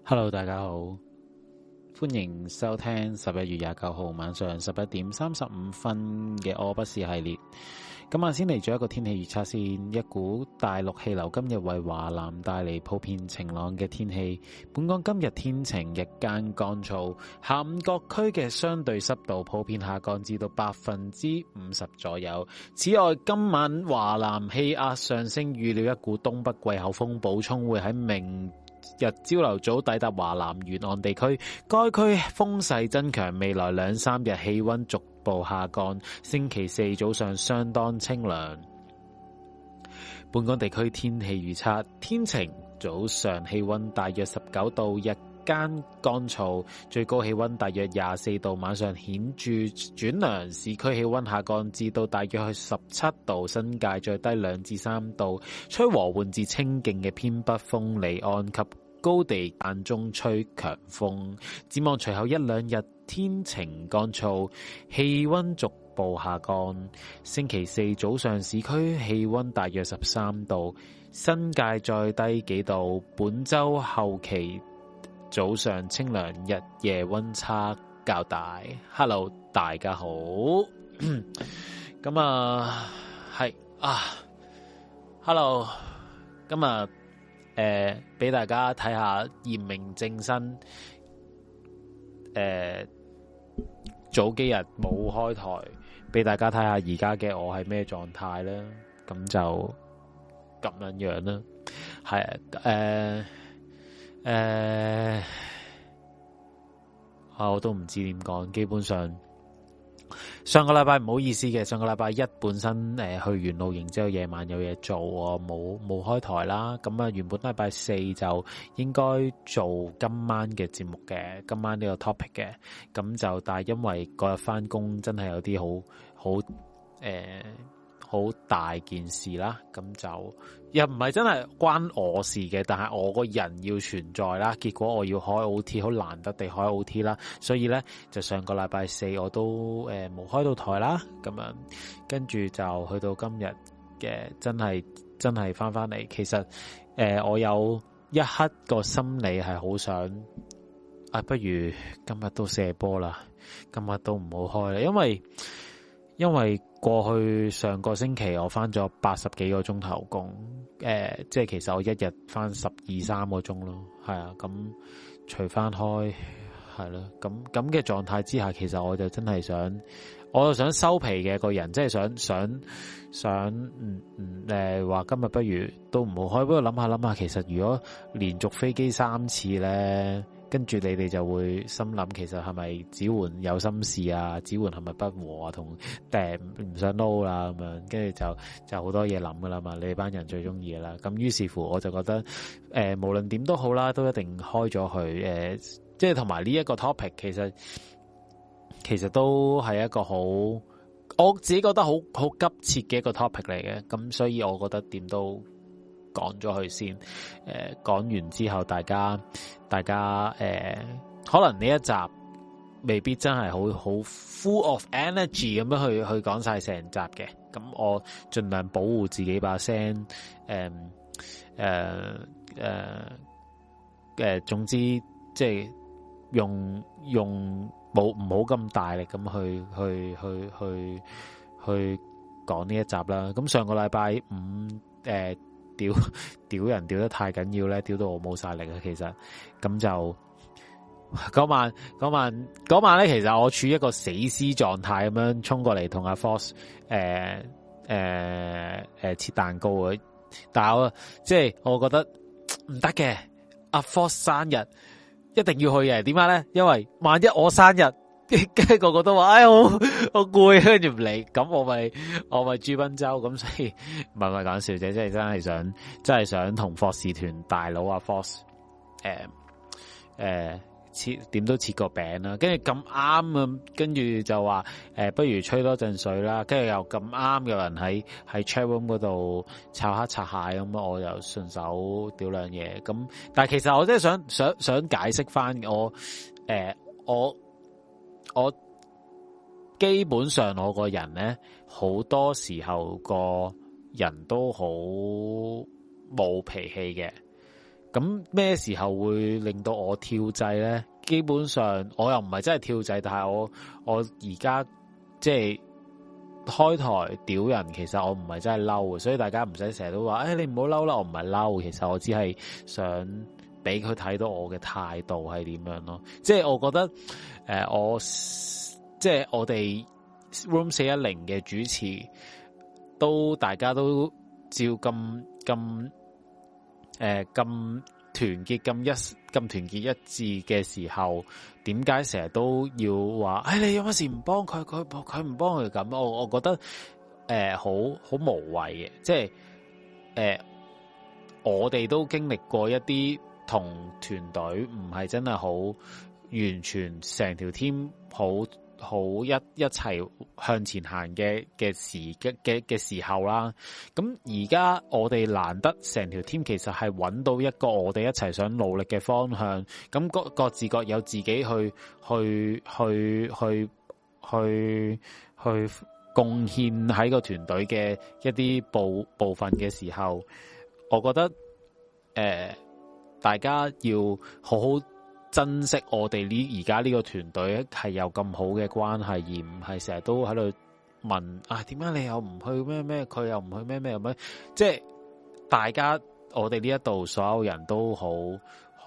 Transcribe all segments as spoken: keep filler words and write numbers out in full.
Hello，大家好，歡迎收聽十一月廿九號晚上十一點三十五分嘅我不是系列。今晚先嚟咗一個天氣預測先，一股大陸氣流今日為華南帶嚟普遍晴朗嘅天氣。本港今日天晴，日間乾燥，下午各區嘅相對濕度普遍下降至到百分之五十左右。此外，今晚華南氣壓上升，預料一股東北季候風補充會喺明日朝頭早抵達華南沿岸地區，該區風勢增強，未來兩三日氣溫逐步下降，星期四早上相當清涼。本港地區天氣預測：天晴，早上氣溫大約十九度，日間乾燥，最高氣溫大約廿四度，晚上顯著轉涼，市區氣溫下降至到大約去十七度，新界最低兩至三度，吹和緩至清勁嘅偏北風，離岸及高地間中吹強風。展望隨後一兩日天晴乾燥，氣溫逐步下降。星期四早上市區氣溫大約十三度，新界再低幾度。本周後期早上清涼，日夜溫差較大。Hello， 大家好。咁啊，係啊 ，Hello， 今日誒俾大家睇下嚴明正身。誒、呃，早幾日冇開台，俾大家睇下而家嘅我係咩狀態啦。咁就咁樣樣啦。係誒。呃誒、呃，啊，我都唔知點講。基本上上個禮拜唔好意思嘅，上個禮拜一本身誒、呃、去完露營之後，夜晚有嘢做，我冇冇開台啦。咁啊，原本禮拜四就應該做今晚嘅節目嘅，今晚呢個 topic 嘅。咁就但係因為嗰日翻工真係有啲好好誒。好大件事啦，咁就又唔係真係關我事嘅，但係我個人要存在啦，結果我要開 O T， 好難得地開 O T 啦，所以咧就上個禮拜四我都誒冇、呃、開到台啦，咁樣跟住就去到今日嘅真係真係翻翻嚟，其實誒、呃、我有一刻個心理係好想啊，不如今日都射波啦，今日都唔好開啦，因為因為過去上個星期我翻咗八十幾個鐘頭工，誒、呃，即係其實我一日翻十二三個鐘咯，係啊，咁除翻開係咯，咁咁嘅狀態之下，其實我就真係想，我就想收皮嘅個人，即係想想想，嗯嗯，誒，話今日不如都唔好開，不過諗下諗下，其實如果連續飛機三次咧。跟住你哋就會心諗，其實係咪子桓有心事啊？子桓係咪不和啊？同誒唔想撈啦咁樣，跟住就就好多嘢諗噶啦嘛。你哋班人最中意噶啦。咁於是乎，我就覺得誒、呃，無論點都好啦，都一定開咗佢誒，即係同埋呢一個 topic，其實其實都係一個好，我自己覺得好好急切嘅一個 topic 嚟嘅。咁所以我覺得點都講咗佢先，誒、呃，講完之後，大家，大家，誒、呃，可能呢一集未必真係好好 full of energy 咁樣去去講晒成集嘅，咁我盡量保護自己把聲，誒，誒，誒，誒，總之即係用用冇唔好咁大力咁去去去去去講呢一集啦。咁上個禮拜五，誒、呃。屌屌人屌得太緊要咧，屌到我冇晒力啊！其實咁就嗰晚嗰晚嗰晚咧，其實我處於一個死屍狀態咁樣衝過嚟同阿 Force 誒誒誒切蛋糕啊！但係我即係我覺得唔得嘅，阿 Force 生日一定要去嘅。點解咧？因為萬一我生日。跟住個個都話，哎，我好攰，跟住唔嚟，咁我咪我咪朱賓州，咁所以唔係唔係講笑啫，即係真係想，真係想同霍士團大佬啊 Force，誒誒切點都切個餅啦，跟住咁啱啊，跟住就話誒、呃，不如吹多陣水啦，跟住又咁啱有人喺喺 chat room 嗰度炒黑擦蟹咁，我又順手屌兩嘢，咁但係其實我真係想想想解釋翻我誒、呃、我。我基本上我個人咧，好多時候個人都好冇脾氣嘅， 咁咩時候會令到我跳掣咧？基本上我又唔係真係跳掣，但係我我而家即係開台屌人，其實我唔係真係嬲嘅，所以大家唔使成日都話，誒、哎、你唔好嬲啦，我唔係嬲，其實我只係想俾佢睇到我嘅態度係點樣咯。即係我覺得誒、呃，我即係我哋 Room 四一零嘅主持都大家都照咁咁誒咁團結咁一咁團結一致嘅時候，點解成日都要話？誒、哎，你有乜事唔幫佢？佢佢唔幫佢咁？我我覺得誒好好無謂嘅，即係誒、呃、我哋都經歷過一啲同團隊唔係真係好完全成條 team 好。好一一齊向前行嘅嘅時嘅嘅嘅時候啦，咁而家我哋難得成條 team 其實係揾到一個我哋一齊想努力嘅方向，咁各各自各有自己去去去去去去貢獻喺個團隊嘅一啲部部分嘅時候，我覺得誒、呃、大家要好好珍惜我哋呢而家呢個團隊係有咁好嘅關係，而唔係成日都喺度問啊點解你又唔去咩咩，佢又唔去咩咩咁樣，即係大家我哋呢一度所有人都好好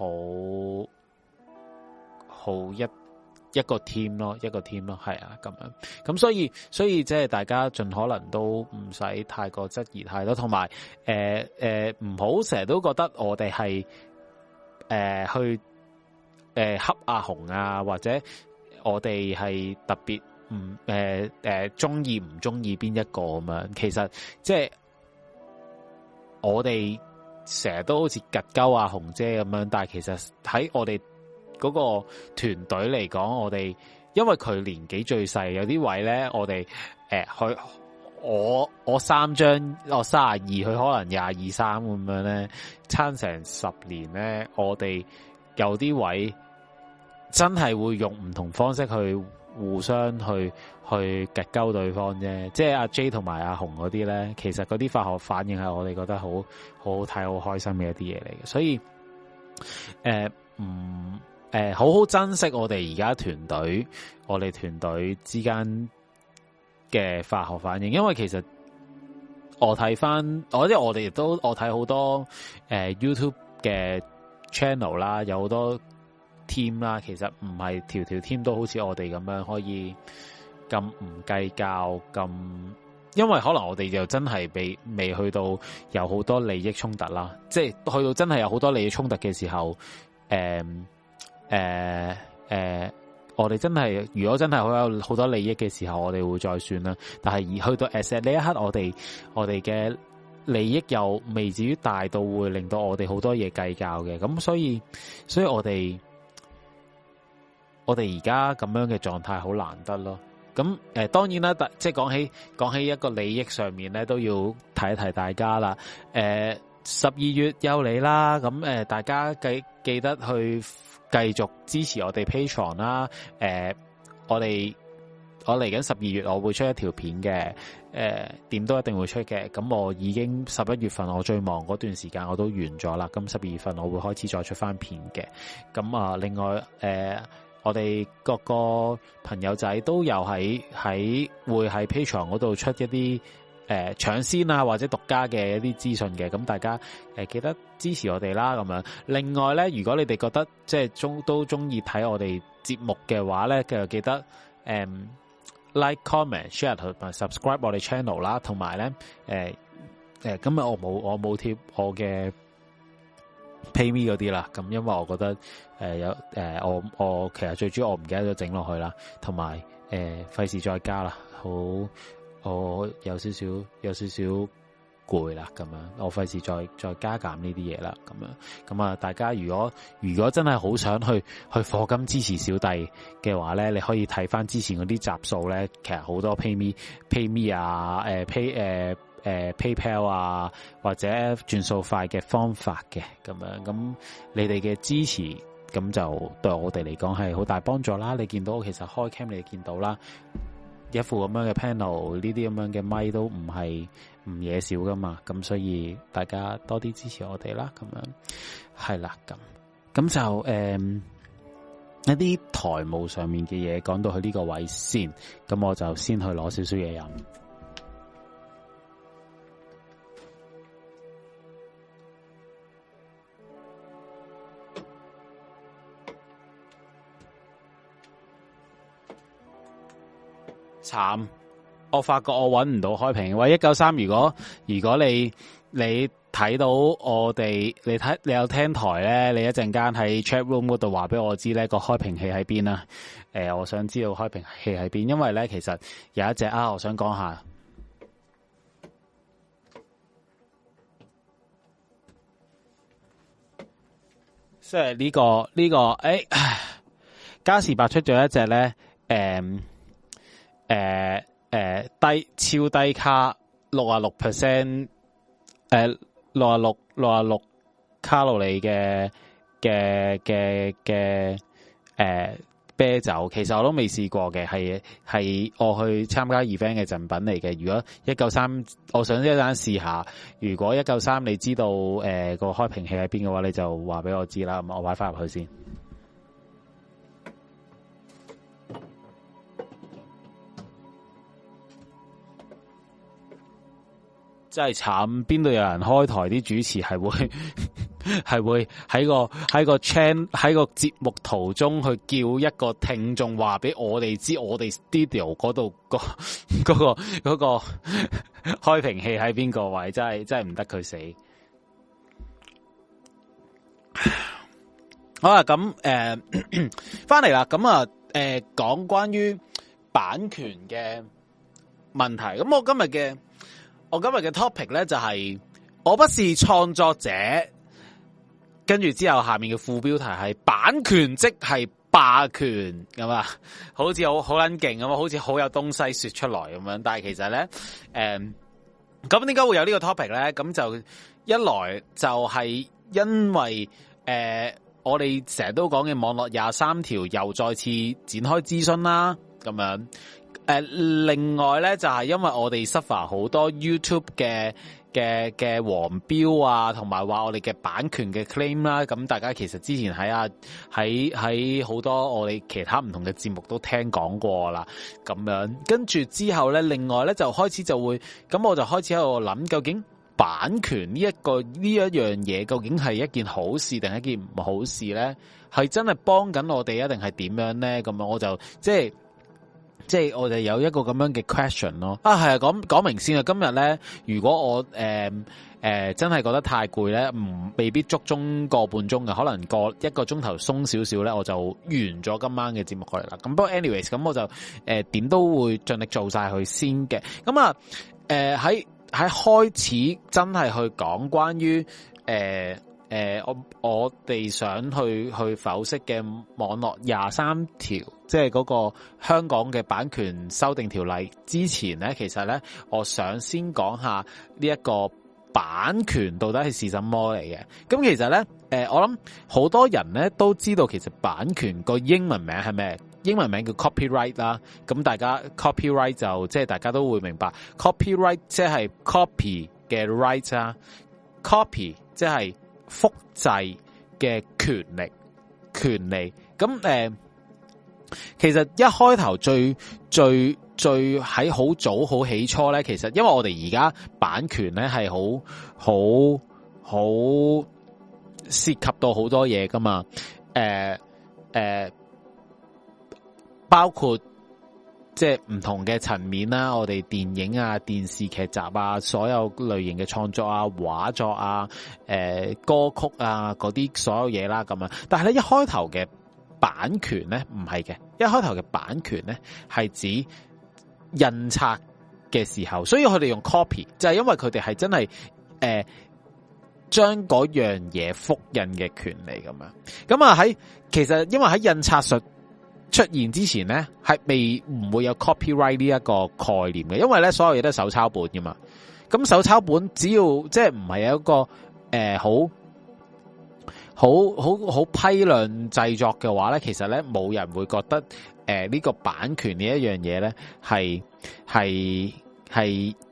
好一一個 team 咯，一個 team 咯，係啊咁樣，咁所以所以即係大家盡可能都唔使太過質疑太多，同埋誒誒唔好成日都覺得我哋係誒去。誒，恰阿紅啊，或者我哋係特別唔誒誒中意唔中意邊一個咁樣，其實即係我哋成日都好似夾鳩阿紅姐咁樣，但係其實喺我哋嗰個團隊嚟講，我哋因為佢年紀最細，有啲位咧，我哋誒佢我我三張我三十二，佢可能廿二三咁樣咧，差成十年咧，我哋有啲位。真係會用唔同方式去互相去去夾鳩對方啫，即係阿 J 同埋阿紅嗰啲咧，其實嗰啲化學反應係我哋覺得好好好睇、好開心嘅一啲嘢嚟嘅，所以誒唔誒好好珍惜我哋而家團隊，我哋團隊之間嘅化學反應，因為其實我睇翻，我即係我哋亦都我睇好多誒、呃、YouTube 嘅 channel 啦，有好多。team 啦，其實唔係條條 team 都好似我哋咁樣可以咁唔計較咁，因為可能我哋就真係未未去到有好多利益衝突啦，即係去到真係有好多利益衝突嘅時候，誒誒誒，我哋真係如果真係好有好多利益嘅時候，我哋會再算啦。但係而去到 at 呢一刻，我哋我哋嘅利益又未至於大到會令到我哋好多嘢計較嘅，咁所以所以我哋。我哋而家咁樣嘅狀態好難得咯，咁誒、呃、當然啦，即係講起講起一個利益上面咧，都要提一提大家啦。誒十二月又嚟啦，咁誒、呃、大家記記得去繼續支持我哋 Patreon 啦。誒、呃、我哋我嚟緊十二月我會出一條片嘅，誒、呃、點都一定會出嘅。咁我已經十一月份我最忙嗰段時間我都完咗啦，咁十二月份我會開始再出翻片嘅。咁啊，另外誒。呃我哋各個朋友仔都有喺喺會喺 Patreon 嗰度出一啲誒搶先啊或者獨家嘅一啲資訊嘅，咁大家誒、呃、記得支持我哋啦咁樣。另外咧，如果你哋覺得即係中都中意睇我哋節目嘅話咧，就記得誒、嗯、like comment share 同埋 subscribe 我哋 channel 啦，同埋咧誒誒今日我冇我冇貼我嘅 PayMe 嗰啲啦，咁因為我覺得誒、呃、有誒、呃、我我其實最主要我唔記得咗整落去啦，同埋誒費事再加啦，好我有少少有少少攰啦，咁樣我費事再再加減呢啲嘢啦，咁樣咁啊大家如果如果真係好想去去課金支持小弟嘅話咧，你可以睇翻之前嗰啲集數咧，其實好多 PayMe PayMe 啊，誒、呃、Pay 誒、呃。誒、呃、PayPal 啊，或者轉數快嘅方法嘅咁樣，咁你哋嘅支持咁就對我哋嚟講係好大幫助啦。你見到其實開 cam 你見到啦，一副咁樣嘅 panel， 呢啲咁樣嘅咪都唔係唔嘢少噶嘛，咁所以大家多啲支持我哋啦，咁樣係啦，咁咁就誒、嗯、一啲台務上面嘅嘢講到去呢個位先，咁我就先去攞少少嘢飲。慘，我發覺我搵唔到開屏。喂，一九三，如果如果你你睇到我哋，你睇你有聽台咧，你一陣間喺 chat room 嗰度話俾我知咧個開屏器喺邊啦。誒、呃，我想知道開屏器喺邊，因為咧其實有一隻啊，我想講下，即係呢個呢、這個誒，嘉士伯出咗一隻咧，誒、嗯。誒、呃、誒、呃，低超低卡六啊六 percent，誒六啊六六啊六卡路里嘅嘅嘅嘅誒啤酒，其實我都未試過嘅，係係我去參加 event 嘅贈品嚟嘅。如果一九三，我想一陣間試下。如果一九三你知道誒、呃、個開瓶器喺邊嘅話，你就話俾我知啦。咁我擺翻入去先。真係慘，邊度有人開台啲主持係會係會喺個喺個 channel 喺個節目途中去叫一個聽眾話俾我哋知，我哋 studio 嗰度個嗰個嗰個開瓶器喺邊個位，真係真係唔得佢死。好啦，咁誒翻嚟啦，咁啊誒講關於版權嘅問題，咁我今日嘅。我今日嘅 topic 咧就係、是、我不是創作者，跟住之後下面嘅副標題係版權即係霸權咁啊，好似好好撚勁咁啊，好似好有東西說出來咁樣。但係其實咧，誒咁點解會有呢個 topic 咧？咁就一來就係因為誒、呃、我哋成日都講嘅網絡廿三條又再次展開諮詢啦，咁樣。誒、呃，另外咧就係、是、因為我哋 suffer 好多 YouTube 嘅嘅嘅黃標啊，同埋話我哋嘅版權嘅 claim 啦，咁大家其實之前喺啊喺喺好多我哋其他唔同嘅節目都聽講過啦，咁樣跟住之後咧，另外咧就開始就會，咁我就開始喺度諗，究竟版權呢一個呢一樣嘢，究竟係一件好事定係一件唔好事咧？係真係幫緊我哋啊，定係點樣咧？咁樣我就即係。即係我哋有一個咁樣嘅 question 咯，啊係啊，講講明先啊，今日咧如果我誒誒、呃呃、真係覺得太攰咧，唔未必足鐘個半鐘嘅，可能個一個鐘頭鬆少少咧，我就完咗今晚嘅節目過嚟啦。咁不過 anyways，咁我就誒點、呃、都會盡力做晒佢先嘅。咁啊誒喺喺開始真係去講關於誒。呃誒、呃，我我哋想去去剖析嘅網絡廿三條，即係嗰個香港嘅版權修訂條例之前咧，其實咧，我想先講下呢一個版權到底係是什麼嚟嘅。咁其實咧，誒、呃，我諗好多人咧都知道，其實版權個英文名係咩？英文名叫 copyright 啦。咁大家 copyright 就即係大家都會明白 ，copyright 即係 copy 嘅 right 啦 ，copy 即係複製嘅權力，權利咁誒、呃，其實一開頭最最最喺好早好起初咧，其實因為我哋而家版權咧係好好好涉及到好多嘢噶嘛，誒、呃、誒、呃，包括。即係唔同嘅層面啦，我哋電影啊、電視劇集啊，所有類型嘅創作啊、畫作啊、誒、呃、歌曲啊嗰啲所有嘢啦咁樣。但係咧一開頭嘅版權咧唔係嘅，一開頭嘅版權咧係指印刷嘅時候，所以佢哋用 copy 就係因為佢哋係真係誒將嗰樣嘢複印嘅權利咁樣。咁啊喺其實因為喺印刷術出現之前咧，係未唔會有 copyright 呢一個概念嘅，因為咧所有嘢都係手抄本噶嘛。咁手抄本只要即係唔係有一個誒、呃、好好好好批量製作嘅話咧，其實咧冇人會覺得誒呢、呃這個版權呢一樣嘢咧係係係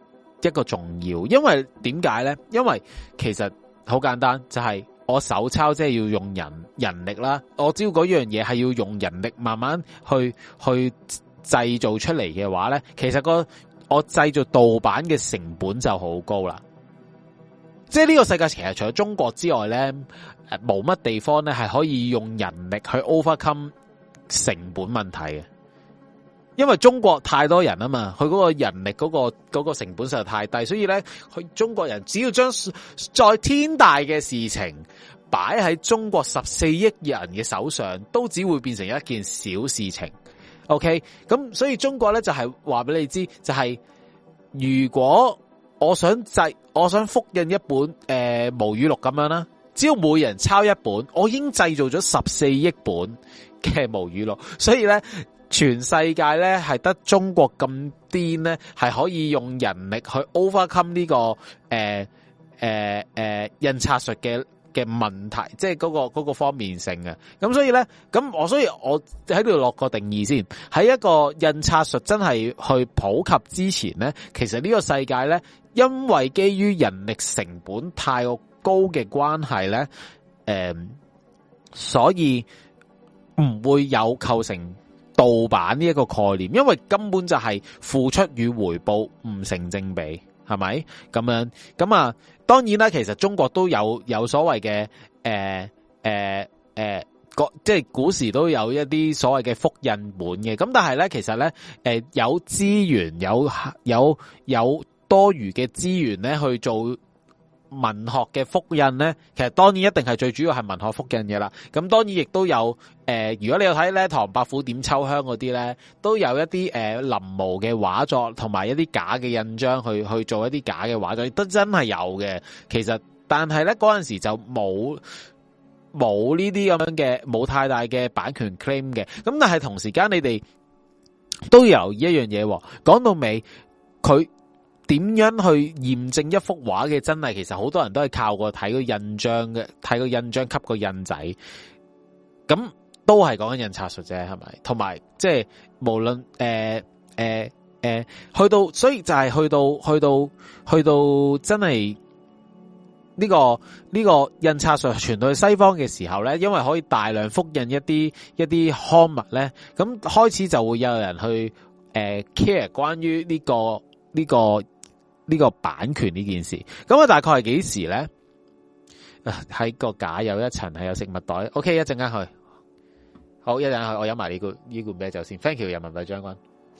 一個重要，因為點解咧？因為其實好簡單，就係、是、我手抄即係要用人人力啦。我知道嗰樣嘢係要用人力慢慢去去製造出嚟嘅話咧，其實個我製造盜版嘅成本就好高啦。即係呢個世界其實除咗中國之外咧，誒冇乜地方咧係可以用人力去 overcome 成本問題嘅。因為中國太多人啊嘛，佢嗰個人力嗰、嗰個、嗰個成本實在太低，所以咧，佢中國人只要將在天大嘅事情擺喺中國十四億人嘅手上，都只會變成一件小事情。OK， 咁所以中國咧就係話俾你知，就係、是、如果我想製，我想複印一本誒、呃、毛語錄咁樣啦，只要每人抄一本，我已經製造咗十四億本嘅毛語錄，所以咧。全世界咧係得中國咁癲咧，係可以用人力去 overcome 呢、這個誒誒誒印刷術嘅嘅問題，即係嗰、那個嗰、那個方面性嘅。咁所以咧，咁我所以我喺度落個定義先。喺一個印刷術真係去普及之前咧，其實呢個世界咧，因為基於人力成本太過高嘅關係咧，誒、呃，所以唔會有構成盜版呢一個概念，因為根本就係付出與回報唔成正比，係咪咁樣？咁啊，當然啦，其實中國都有有所謂嘅誒誒誒，即係古時都有一啲所謂嘅複印本嘅。咁但係咧，其實咧，誒、呃、有資源有有有多餘嘅資源咧去做文學嘅複印咧，其實當然一定係最主要係文學複印嘅啦。咁當然亦都有誒、呃，如果你有睇咧唐伯虎點秋香嗰啲咧，都有一啲誒、呃、臨摹嘅畫作，同埋一啲假嘅印章去去做一啲假嘅畫作，亦都真係有嘅。其實但係咧嗰陣時就冇冇呢啲咁樣嘅冇太大嘅版權 claim 嘅。咁但係同時間你哋都有一樣嘢，講到尾佢。點樣去驗證一幅畫嘅真偽？其實好多人都係靠過睇個印章嘅，睇個印章吸個印仔，咁都係講緊印刷術啫，係咪？同埋即係無論誒誒誒，去到所以就係去到去到去到真係呢個呢個印刷術傳到去西方嘅時候咧，因為可以大量複印一啲一啲刊物咧，咁開始就會有人去誒、呃、care 關於呢個呢個。呢個版權呢件事，咁啊大概係幾時咧？喺個架有一層係有食物袋。OK， 一陣間去，好一陣間去，我飲埋呢罐呢罐啤酒先。Thank you，人民幣將軍。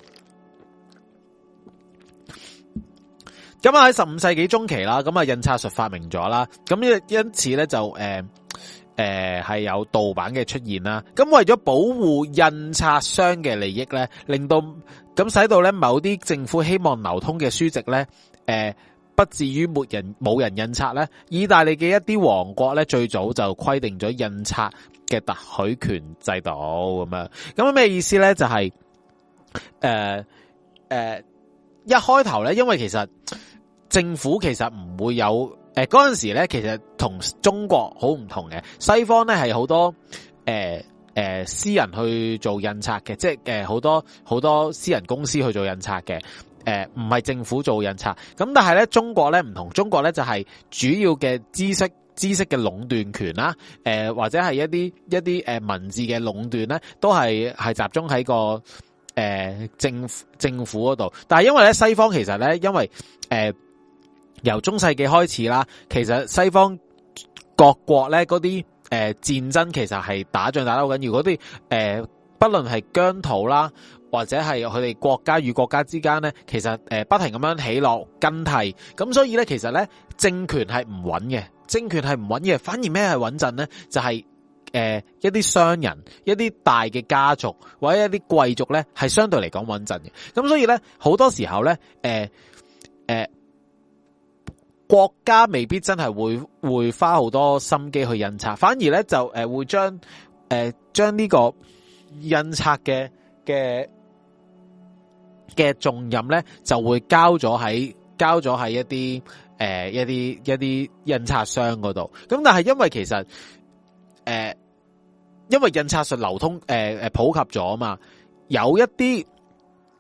咁啊喺十五世紀中期啦，咁啊印刷術發明咗啦，咁因因此咧就誒誒係有盜版嘅出現啦。咁為咗保護印刷商嘅利益咧，令到咁使到咧某啲政府希望流通嘅書籍咧。誒、呃，不至於沒人冇人印刷咧。意大利嘅一啲王國咧，最早就規定咗印刷嘅特許權制度咁樣。咁咩意思咧？就係誒誒，一開頭咧，因為其實政府其實唔會有誒嗰陣時咧，其實同中國好唔同嘅。西方咧係好多誒誒、呃呃、私人去做印刷嘅，即係誒好多好多私人公司去做印刷嘅。誒，唔係政府做印刷，咁但係咧，中國咧唔同，中國咧就係主要嘅知識知識嘅壟斷權啦，誒、呃、或者係一啲一啲誒文字嘅壟斷咧，都係係集中喺個誒、呃、政府政府嗰度。但係因為咧西方其實咧，因為誒、呃、由中世紀開始啦，其實西方各國咧嗰啲誒戰爭其實係打仗打得好緊要，嗰啲誒不論係疆土啦。或者係佢哋國家與國家之間咧，其實誒不停咁樣起落更替，咁所以咧其實咧政權係唔穩嘅，政權係唔穩嘅，反而咩係穩陣咧？就係、是、誒、呃、一啲商人、一啲大嘅家族或者一啲貴族咧，係相對嚟講穩陣嘅。咁所以咧好多時候咧，誒、呃、誒、呃、國家未必真係會會花好多心機去印刷，反而咧就誒會將誒將呢個印刷嘅嘅。嘅重任咧就會交咗喺交咗喺一啲誒、呃、一啲一啲印刷商嗰度。咁但係因為其實誒、呃、因為印刷術流通誒誒、呃、普及咗啊嘛，有一啲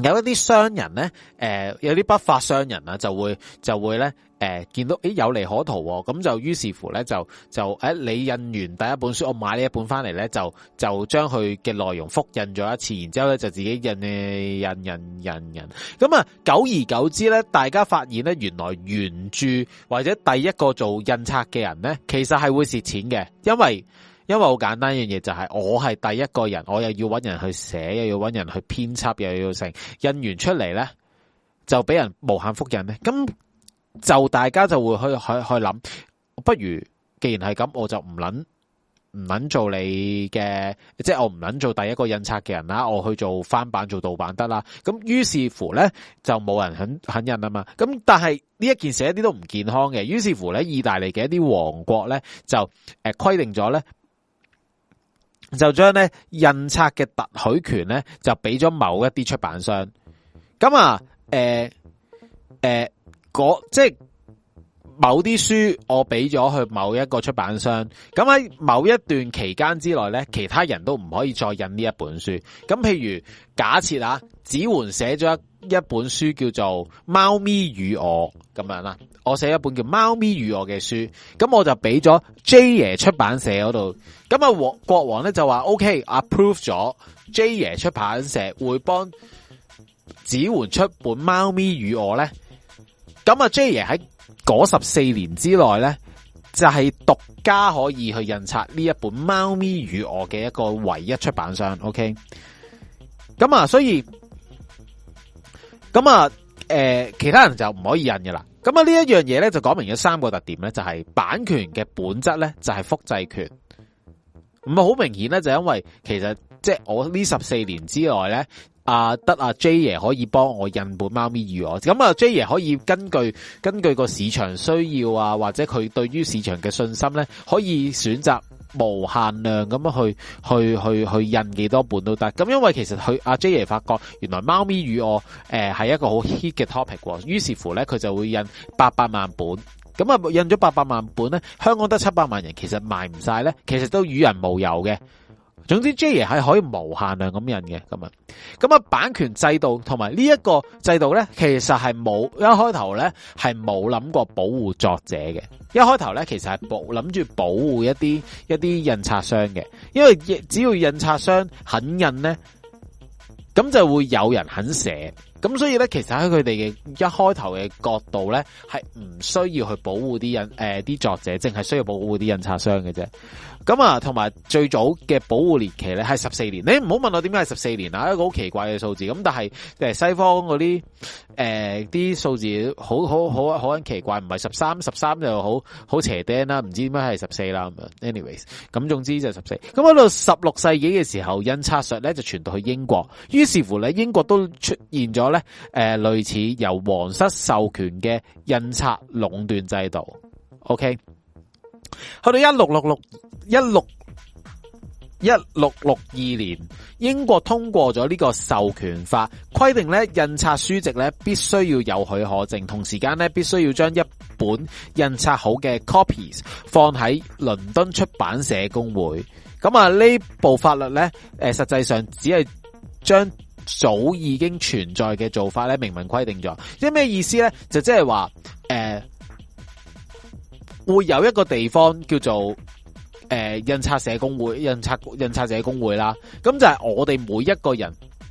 有一啲商人咧，誒、呃，有啲不法商人啊，就會就會咧，誒、呃，見到誒有利可圖，咁就於是乎咧，就就誒、欸，你印完第一本書，我買呢一本翻嚟咧，就就將佢嘅內容複印咗一次，然之後咧就自己印誒印印印印，咁啊，久而久之咧，大家發現咧，原來原著或者第一個做印刷嘅人咧，其實係會蝕錢嘅，因為。因為好簡單一樣嘢就係我係第一個人，我又要搵人去寫，又要搵人去編輯，又要成印完出嚟咧，就俾人無限複印咧。咁就大家就會去去去諗，不如既然係咁，我就唔捻唔捻做你嘅，即係我唔捻做第一個印刷嘅人啦，我去做翻版做盜版得啦。咁於是乎咧，就冇人肯肯印啊嘛。咁但係呢一件事一啲都唔健康嘅。於是乎咧，意大利嘅一啲王國咧就誒規定咗咧。就將咧印刷嘅特許權咧，就俾咗某一啲出版商。咁啊，誒、呃、誒，即係某啲書我俾咗去某一個出版商。咁喺某一段期間之內咧，其他人都唔可以再印呢一本書。咁譬如假設啊，子桓寫咗一一本書叫做《貓咪與我》咁樣啦，我寫一本叫《貓咪與我》嘅書，咁我就俾咗 J 爺出版社嗰度。咁啊，國王咧就話 OK，approve 咗 J 爺出版社會幫子桓出本《貓咪與我》咧。咁啊 ，J 爺喺嗰十四年之內咧，就係、是、獨家可以去印刷呢一本《貓咪與我》嘅一個唯一出版商。OK，咁啊，所以咁啊，誒、呃，其他人就唔可以印㗎啦。咁啊，呢一樣嘢咧就講明咗三個特點咧，就係、是、版權嘅本質咧就係複製權。唔係好明顯咧，就因為其實即係我呢十四年之內咧，啊得阿 J 爺可以幫我印本貓咪與我，咁啊 J 爺可以根據根據個市場需要啊，或者佢對於市場嘅信心咧，可以選擇無限量咁樣去去去去印幾多本都得。咁因為其實佢阿 J 爺發覺原來貓咪與我誒係、呃、一個好 hit 嘅 topic， 於是乎咧佢就會印八百萬本。咁啊，印咗八百萬本咧，香港得七百萬人，其實賣唔晒咧，其實都與人無尤嘅。總之 ，J 爺係可以無限量咁印嘅，咁啊，咁啊，版權制度同埋呢一個制度咧，其實係冇一開頭咧係冇諗過保護作者嘅。一開頭咧，其實係保諗住保護一啲一啲印刷商嘅，因為只要印刷商肯印咧，咁就會有人肯寫。咁所以咧，其實喺佢哋嘅一開頭嘅角度咧，係唔需要去保護啲印誒啲作者，淨係需要保護啲印刷商嘅啫。咁啊，同埋最早嘅保護年期咧係十四年。你唔好問我點解係十四年啊，一個好奇怪嘅數字。咁但係誒西方嗰啲誒啲數字好好好好很奇怪，唔係十三，十三就好好邪釘啦，唔知點解係十四啦咁樣。anyways，咁總之就十四。咁喺度十六世紀嘅時候，印刷術咧就傳到去英國，於是乎咧英國都出現咗咧誒類似由皇室授權嘅印刷壟斷制度。OK，去到一六六六。一六一六六二年，英國通過咗呢個授權法，規定咧印刷書籍咧必須要有許可證，同時間咧必須要將一本印刷好嘅 copies 放喺倫敦出版社公會。咁啊，呢部法律咧，誒，實際上只係將早已經存在嘅做法咧明文規定咗。即係咩意思咧？就即係話，誒、呃，會有一個地方叫做。誒、呃，印刷社工會、印刷印刷者工會啦，咁就係我哋每一個人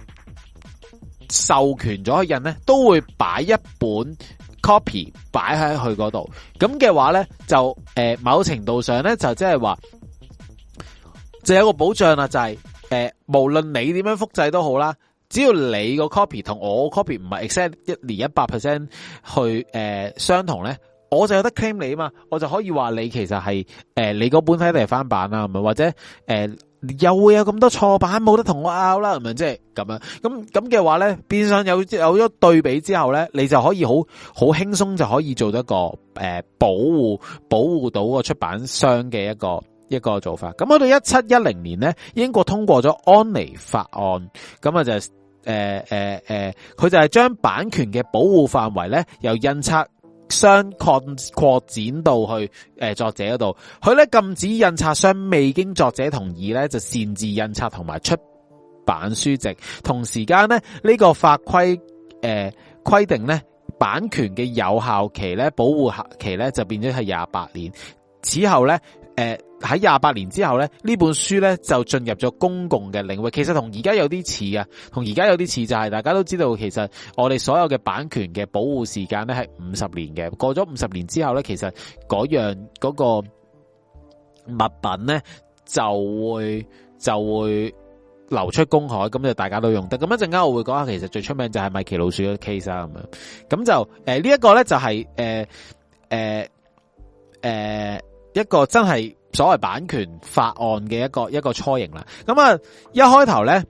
授權咗去印咧，都會擺一本 copy 擺喺佢嗰度。咁嘅話咧，就誒、呃，某程度上咧，就即係話，就有個保障啦，就係、是、誒、呃，無論你點樣複製都好啦，只要你個 copy 同我 copy 唔係 exact 一年一百 percent 去誒、呃、相同咧。我就有得 claim 你啊嘛，我就可以話你其實係誒、呃、你嗰本睇嚟翻版啦，咁啊或者誒、呃、又會有咁多錯版，冇得同我拗啦，咁樣即係咁樣，咁咁嘅話咧，變相有有咗對比之後咧，你就可以好好輕鬆就可以做到一個誒、呃、保護保護到個出版商嘅一個一個做法。咁去到一七一零年咧，英國通過咗安妮法案，咁啊就誒誒誒，佢、呃、就係將版權嘅保護範圍咧由印刷商擴擴展到去誒、呃、作者嗰度，佢咧禁止印刷商未經作者同意咧就擅自印刷同埋出版書籍。同時間咧，呢個法規誒規定咧，版權嘅有效期咧，保護期咧就變咗係廿八年。此後咧，誒喺廿八年之後咧，呢本書咧就進入咗公共嘅領域。其實同而家有啲似啊，同而家有啲似就係大家都知道，其實我哋所有嘅版權嘅保護時間咧係五十年嘅。過咗五十年之後咧，其實嗰樣嗰個物品咧就會就會流出公海，咁就大家都用得。咁一陣間我會講下，其實最出名就係米奇老鼠嘅 case 啊，咁樣。咁就誒、呃這個、呢一個咧就係誒誒誒一個真係所謂版權法案嘅一個一個雛形啦。咁啊一開頭咧，誒、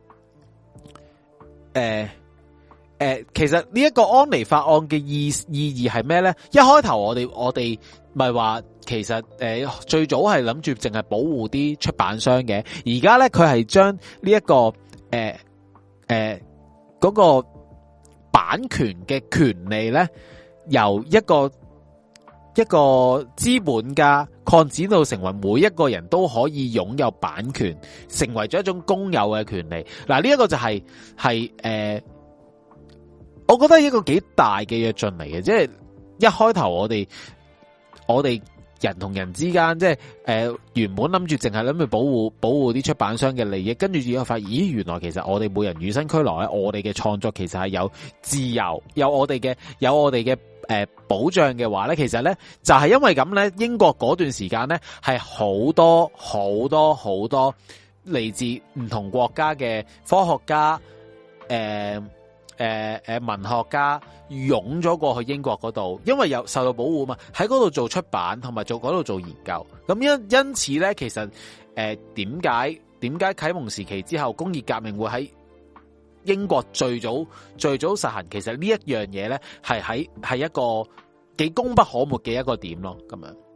呃、誒、呃、其實呢一個安妮法案嘅意意義係咩咧？一開頭我哋我哋咪話。其實誒、呃、最早係諗住淨係保護啲出版商嘅，而家咧佢係將呢一個誒誒嗰個版權嘅權利咧，由一個一個資本家擴展到成為每一個人都可以擁有版權，成為咗一種公有嘅權利。嗱，呢一個就係係誒，我覺得係一個幾大嘅躍進嚟嘅，即係一開頭我哋我哋。人同人之間，即係誒、呃，原本諗住淨係諗住保護保護啲出版商嘅利益，跟住之後發現，咦，原來其實我哋每人與生俱來咧，我哋嘅創作其實係有自由，有我哋嘅有我哋嘅誒保障嘅話咧，其實咧就係、是、因為咁咧，英國嗰段時間咧係好多好多好多嚟自唔同國家嘅科學家，誒、呃。誒、呃、誒，文學家湧咗過去英國嗰度，因為有受到保護嘛，喺嗰度做出版同埋做嗰度做研究。咁因因此咧，其實誒點解點解啟蒙時期之後工業革命會喺英國最早最早實行？其實呢一樣嘢咧係喺係一個幾功不可沒嘅一個點咯。咁樣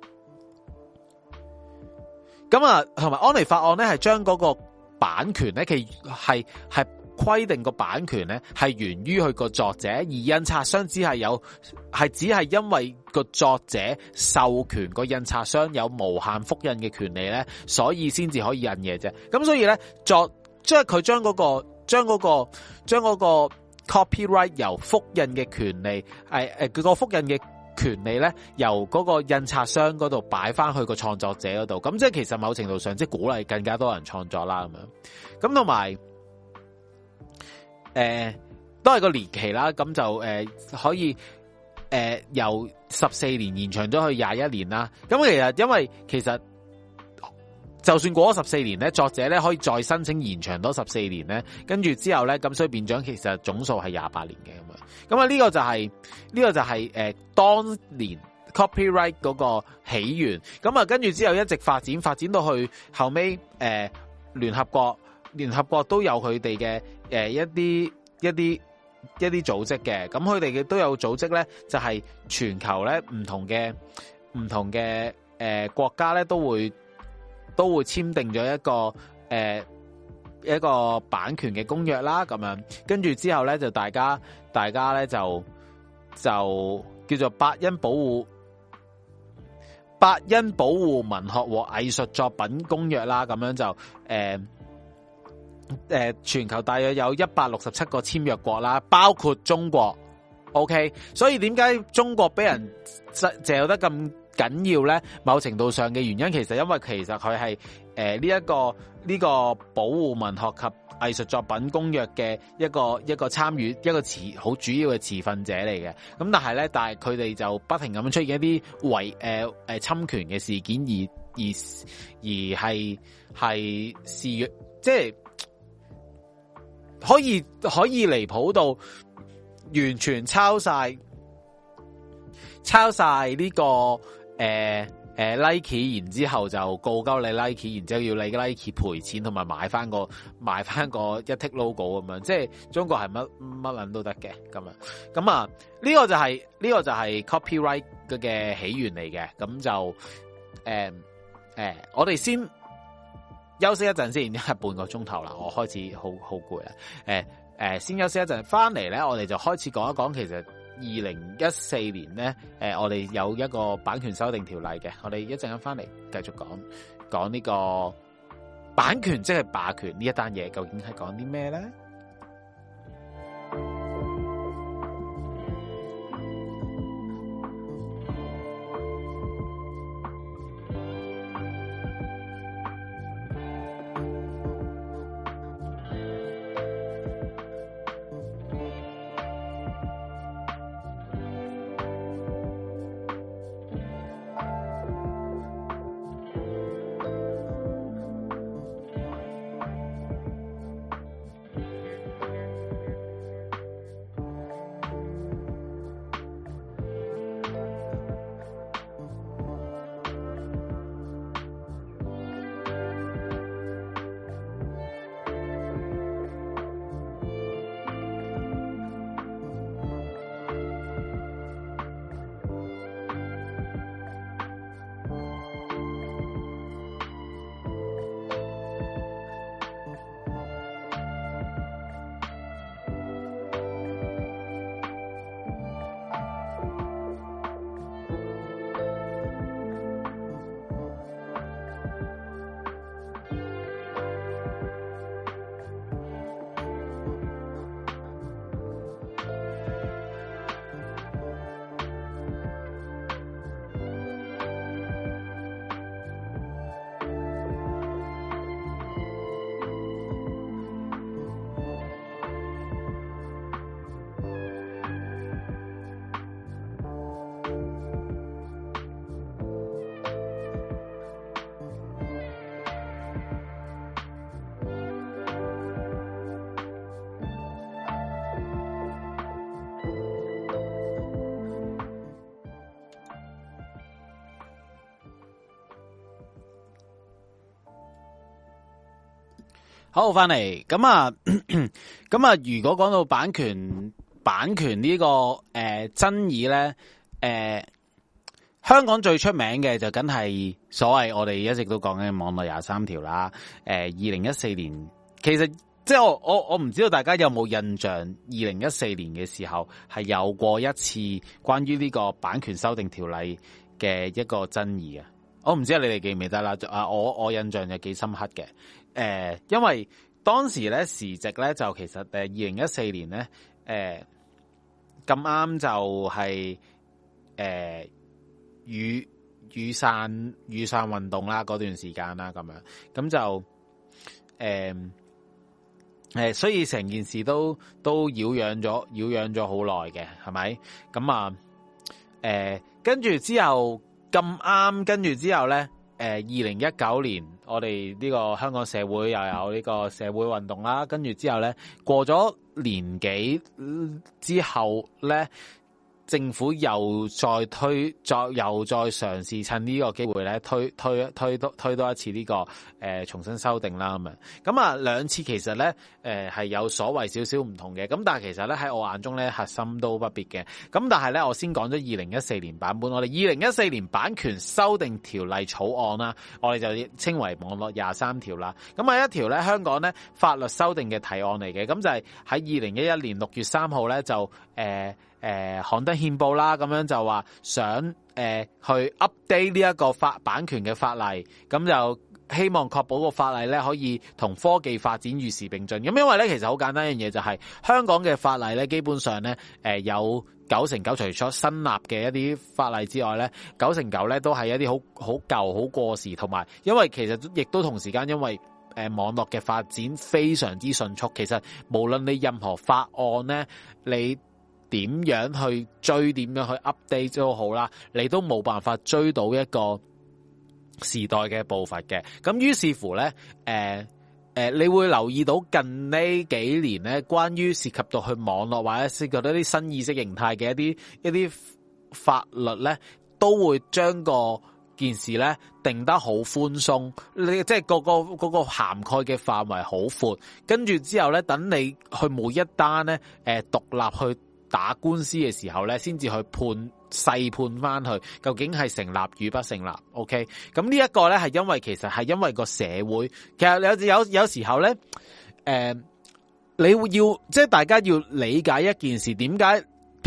咁啊，同埋安妮法案咧係將嗰個版權咧，其係係。規定個版權咧係源於佢個作者，而印刷商只係有係只係因為個作者授權個印刷商有無限複印嘅權利咧，所以先至可以印嘢啫。咁所以咧作即係佢將嗰個將嗰個將嗰個 copyright 由複印嘅權利，誒誒佢個複印嘅權利咧由嗰個印刷商嗰度擺翻去個創作者嗰度。咁即係其實某程度上即係鼓勵更加多人創作啦咁樣。咁同埋。誒、呃，都係個年期啦，咁就誒、呃、可以誒、呃、由十四年延長咗去廿一年啦。咁其實因為其實就算過咗十四年咧，作者咧可以再申請延長多十四年咧，跟住之後咧，咁所以變咗其實總數係廿八年嘅咁樣。咁啊呢個就係、是、呢、這個就係、是、誒、呃、當年 copyright 嗰個起源。咁啊跟住之後一直發展發展到去後尾誒聯合國。聯合國都有佢哋嘅誒一啲一啲一啲組織嘅，咁佢哋嘅都有組織咧，就係、是、全球咧唔同嘅唔同嘅誒、呃、國家咧都會都會簽訂咗一個誒、呃、一個版權嘅公約啦，咁樣跟住之後咧就大家大家咧就就叫做伯恩保護伯恩保護文學和藝術作品公約啦，咁樣就誒。呃誒，全球大約有一百六十七個簽約國啦，包括中國。OK，所以點解中國俾人嚼得咁緊要咧？某程度上嘅原因，其實因為其實佢係誒呢一個呢、這個保護文學及藝術作品公約嘅一個一個參與一個持好主要嘅持份者嚟嘅。咁但係咧，但係佢哋就不停咁樣出現一啲違誒誒侵權嘅事件，而而而係係肆虐，即係。可以可以離譜到完全抄晒抄晒呢、這個誒誒、呃呃、Nike， 然之後就告鳩你 Nike， 然之後要你 Nike 賠錢同埋買翻個買翻個一 tick logo 咁樣，即係中國係乜乜捻都得嘅咁樣。咁啊呢、這個就係、是、呢、這個就係 copyright 嘅起源嚟嘅。咁就誒誒、呃呃，我哋先。休息一陣先，已經係半個鐘頭啦，我開始好好攰啦。誒、呃、誒、呃，先休息一陣，翻嚟咧，我哋就開始講一講，其實二零一四年咧，誒、呃，我哋有一個版權修訂條例嘅，我哋一陣間翻嚟繼續講講呢個版權即係霸權呢一單嘢，究竟係講啲咩咧？好，翻嚟咁啊，咁啊，如果講到版權，版權呢、這個誒、呃、爭議咧，誒、呃、香港最出名嘅就梗係所謂我哋一直都講緊網絡廿三條啦。誒，二零一四年，其實即係我我我唔知道大家有冇印象，二零一四年嘅時候係有過一次關於呢個版權修訂條例嘅一個爭議啊。我唔知你哋記唔記得啦？啊，我我印象就幾深刻嘅。誒、呃，因為當時咧時值咧就其實誒二零一四年咧誒咁啱就係誒雨雨傘雨傘運動啦嗰段時間啦咁樣，咁就誒誒、呃，所以成件事都都擾攘咗擾攘咗好耐嘅，係咪？咁啊誒，跟住之後咁啱，跟住之後咧。誒，二零一九年我哋呢個香港社會又有呢個社會運動啦，跟住之後咧過咗年幾之後咧，政府又再推，再又再嘗試趁呢個機會咧推推推多推多一次呢、這個誒、呃、重新修訂啦咁樣。咁啊兩次其實咧誒係有所謂少少唔同嘅，咁但係其實咧喺我眼中咧核心都不別嘅。咁但係咧我先講咗二零一四年版本，我哋二零一四年版權修訂條例草案啦，我哋就稱為網絡廿三條啦。咁係一條咧香港咧法律修訂嘅提案嚟嘅，咁就係喺二零一一年六月三號咧就誒。呃誒、呃，刊登憲報啦，咁樣就話想誒、呃、去 update 呢一個法版權嘅法例，咁就希望確保個法例咧可以同科技發展與時並進。咁因為咧其實好簡單一樣嘢就係、是、香港嘅法例咧基本上咧誒、呃、有九成九除咗新立嘅一啲法例之外咧，九成九咧都係一啲好好舊好過時，同埋因為其實亦都同時間因為誒、呃、網絡嘅發展非常之迅速，其實無論你任何法案咧你點樣去追，點樣去 update 都好啦，你都冇辦法追到一個時代嘅步伐嘅。咁於是乎咧，誒、呃、誒、呃，你會留意到近呢幾年咧，關於涉及到去網絡或者涉及到一啲新意識形態嘅一啲一啲法律咧，都會將個件事咧定得好寬鬆，你即係個個嗰個涵蓋嘅範圍好闊，跟住之後咧，等你去每一單咧，誒獨立去打官司嘅時候咧，先至去判細判翻去，究竟係成立與不成立 ？OK， 咁呢一個咧係因為其實係因為個社會，其實有有有時候咧，誒、呃，你會要即係大家要理解一件事，點解？譬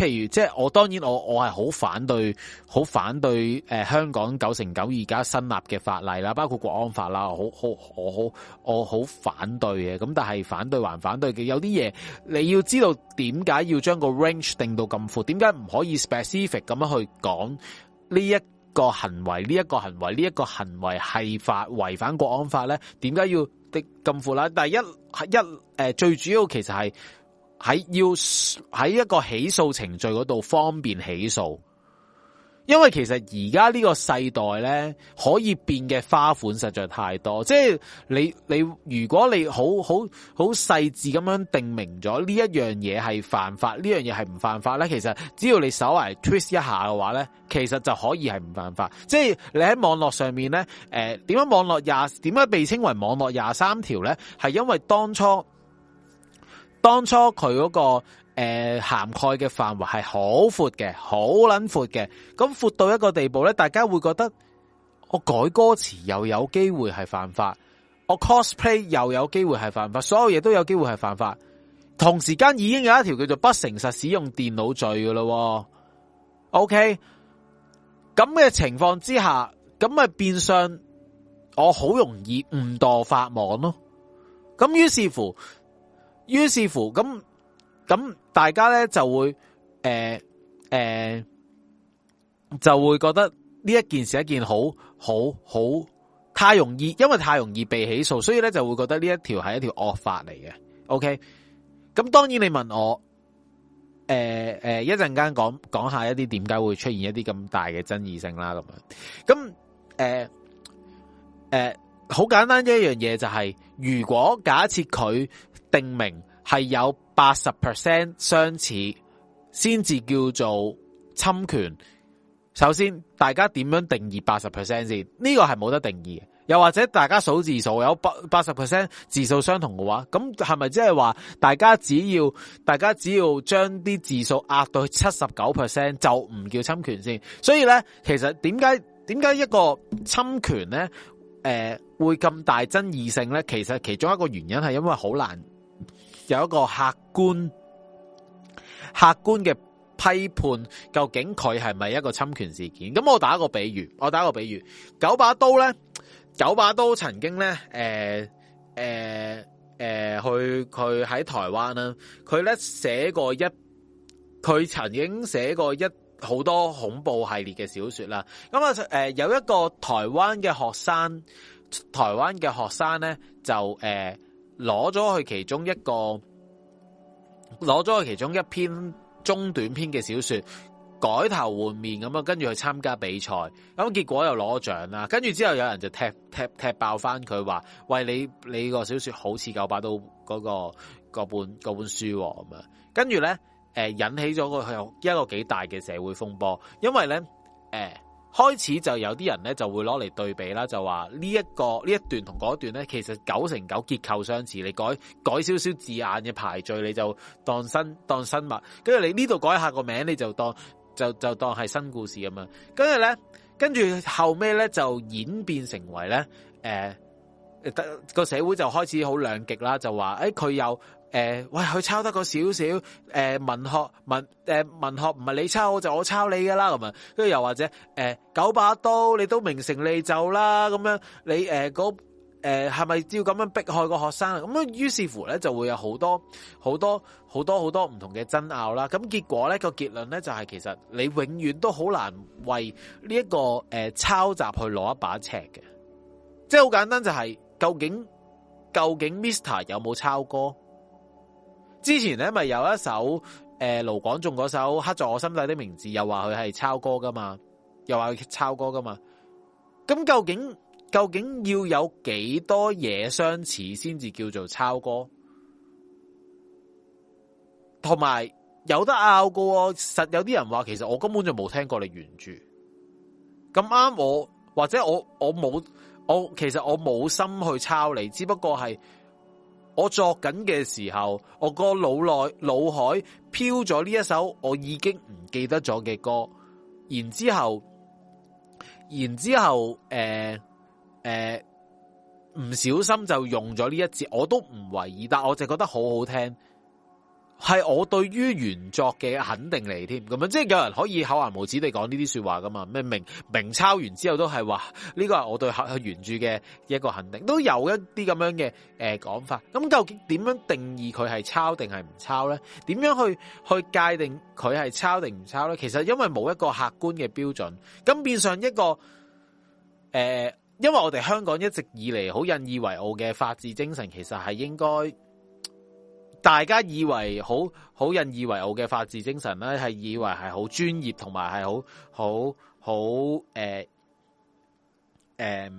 譬如即係我當然我我係好反對好反對誒、呃、香港九成九而家新立嘅法例啦，包括國安法啦，我好好我好我好反對嘅。咁但係反對還反對嘅，有啲嘢你要知道點解要將個 range 定到咁闊，點解唔可以 specific 咁樣去講呢一個行為呢一個行為呢一個行為係法違反國安法咧？點解要的咁闊啦？第一一誒、呃、最主要其實係。喺要喺一個起訴程序嗰度方便起訴，因為其實而家呢個世代咧可以變嘅花款實在太多，即係你你如果你好好好細緻咁樣定明咗呢一樣嘢係犯法，呢樣嘢係唔犯法咧，其實只要你稍為 twist 一下嘅話咧，其實就可以係唔犯法。即係你喺網絡上面咧，誒點解網絡廿點解被稱為網絡廿三條咧？係因為當初。當初佢嗰、那個誒、呃、涵蓋嘅範圍係好闊嘅，好撚闊嘅，咁闊到一個地步咧，大家會覺得我改歌詞又有機會係犯法，我 cosplay 又有機會係犯法，所有嘢都有機會係犯法。同時間已經有一條叫做不誠實使用電腦罪噶咯。OK， 咁嘅情況之下，咁咪變相我好容易誤墮法網咯。咁於是乎。於是乎，咁咁大家咧就會誒誒、呃呃、就會覺得呢一件事一件好好好太容易，因為太容易被起訴，所以咧就會覺得呢一條係一條惡法嚟嘅。OK，咁當然你問我誒誒一陣間講講下一啲點解會出現一啲咁大嘅爭議性啦，咁樣咁誒誒好簡單一樣嘢就係、是，如果假設佢定明係有八十 percent 相似，先至叫做侵權。首先，大家點樣定義八十 percent 先？呢個係冇得定義嘅。又或者大家數字數有八八十 percent 字數相同嘅話，咁係咪即係話大家只要大家只要將啲字數壓到七十九 percent 就唔叫侵權先？所以咧，其實點解點解一個侵權咧，誒、呃、會咁大爭議性咧？其實其中一個原因係因為好難。有一個客觀客觀嘅批判，究竟佢係咪一個侵權事件？咁我打一個比喻，我打一個比喻，九把刀咧，九把刀曾經咧，誒誒誒，去佢喺台灣啦，佢咧寫過一，佢曾經寫過一好多恐怖系列嘅小說啦。咁啊，誒有一個台灣嘅學生，台灣嘅學生咧就誒。呃攞咗去其中一個，攞咗去其中一篇中短篇嘅小說，改頭換面咁啊，跟住去參加比賽，咁結果又攞獎啦。跟住之後有人就踢踢踢爆翻佢話：喂，你你個小說好似九把刀嗰個嗰本嗰本書咁啊！跟住咧，誒引起咗個一個幾大嘅社會風波，因為咧，誒。開始就有啲人咧就會攞嚟對比啦，就話呢一個呢一段同嗰一段咧，其實九成九結構相似，你改改少少字眼嘅排序，你就當新當新物，跟住你呢度改下個名，你就當就就當係新故事咁樣。跟住咧，跟住後尾咧就演變成為咧，誒、呃，個社會就開始好兩極啦，就話誒佢又。誒、呃，喂，佢抄得個少少，誒、呃，文學文，誒、呃，文學唔係你抄我就我抄你噶啦，咁啊，跟住又或者，誒、呃，九把刀你都名成利就啦，咁樣，你誒嗰，誒係咪要咁樣迫害個學生啊？咁啊，於是乎咧就會有好多好多好多好多唔同嘅爭拗啦。咁結果咧個結論咧就係、是、其實你永遠都好難為呢、這、一個誒、呃、抄襲去攞一把尺嘅，即係好簡單就係、是、究竟究竟 Mister 有冇抄歌？之前咧咪有一首誒盧廣仲嗰首刻在我心底的名字，又話佢係抄歌噶嘛，又話佢抄歌噶嘛。咁究竟究竟要有幾多嘢相似先至叫做抄歌？同埋有得拗噶喎，實有啲人話其實我根本就冇聽過你原著。咁啱我或者我我冇我其實我冇心去抄你，只不過係。我作緊嘅時候，我個腦內腦海飄咗呢一首我已經唔記得咗嘅歌，然之後，然之後，誒誒唔小心就用咗呢一節，我都唔為意，但我就覺得好好聽， 係我對於原作嘅肯定嚟添，咁樣即係有人可以厚顏無恥地講呢啲說話噶嘛？咩明明抄完之後都係話呢個係我對原著嘅一個肯定，都有一啲咁樣嘅誒講法。咁究竟點樣定義佢係抄定係唔抄咧？點樣去去界定佢係抄定唔抄咧？其實因為冇一個客觀嘅標準，咁變相一個誒、呃，因為我哋香港一直以嚟好引以為傲嘅法治精神，其實係應該。大家以為好好引以為傲嘅法治精神咧，係以為係好專業同埋係好好好誒誒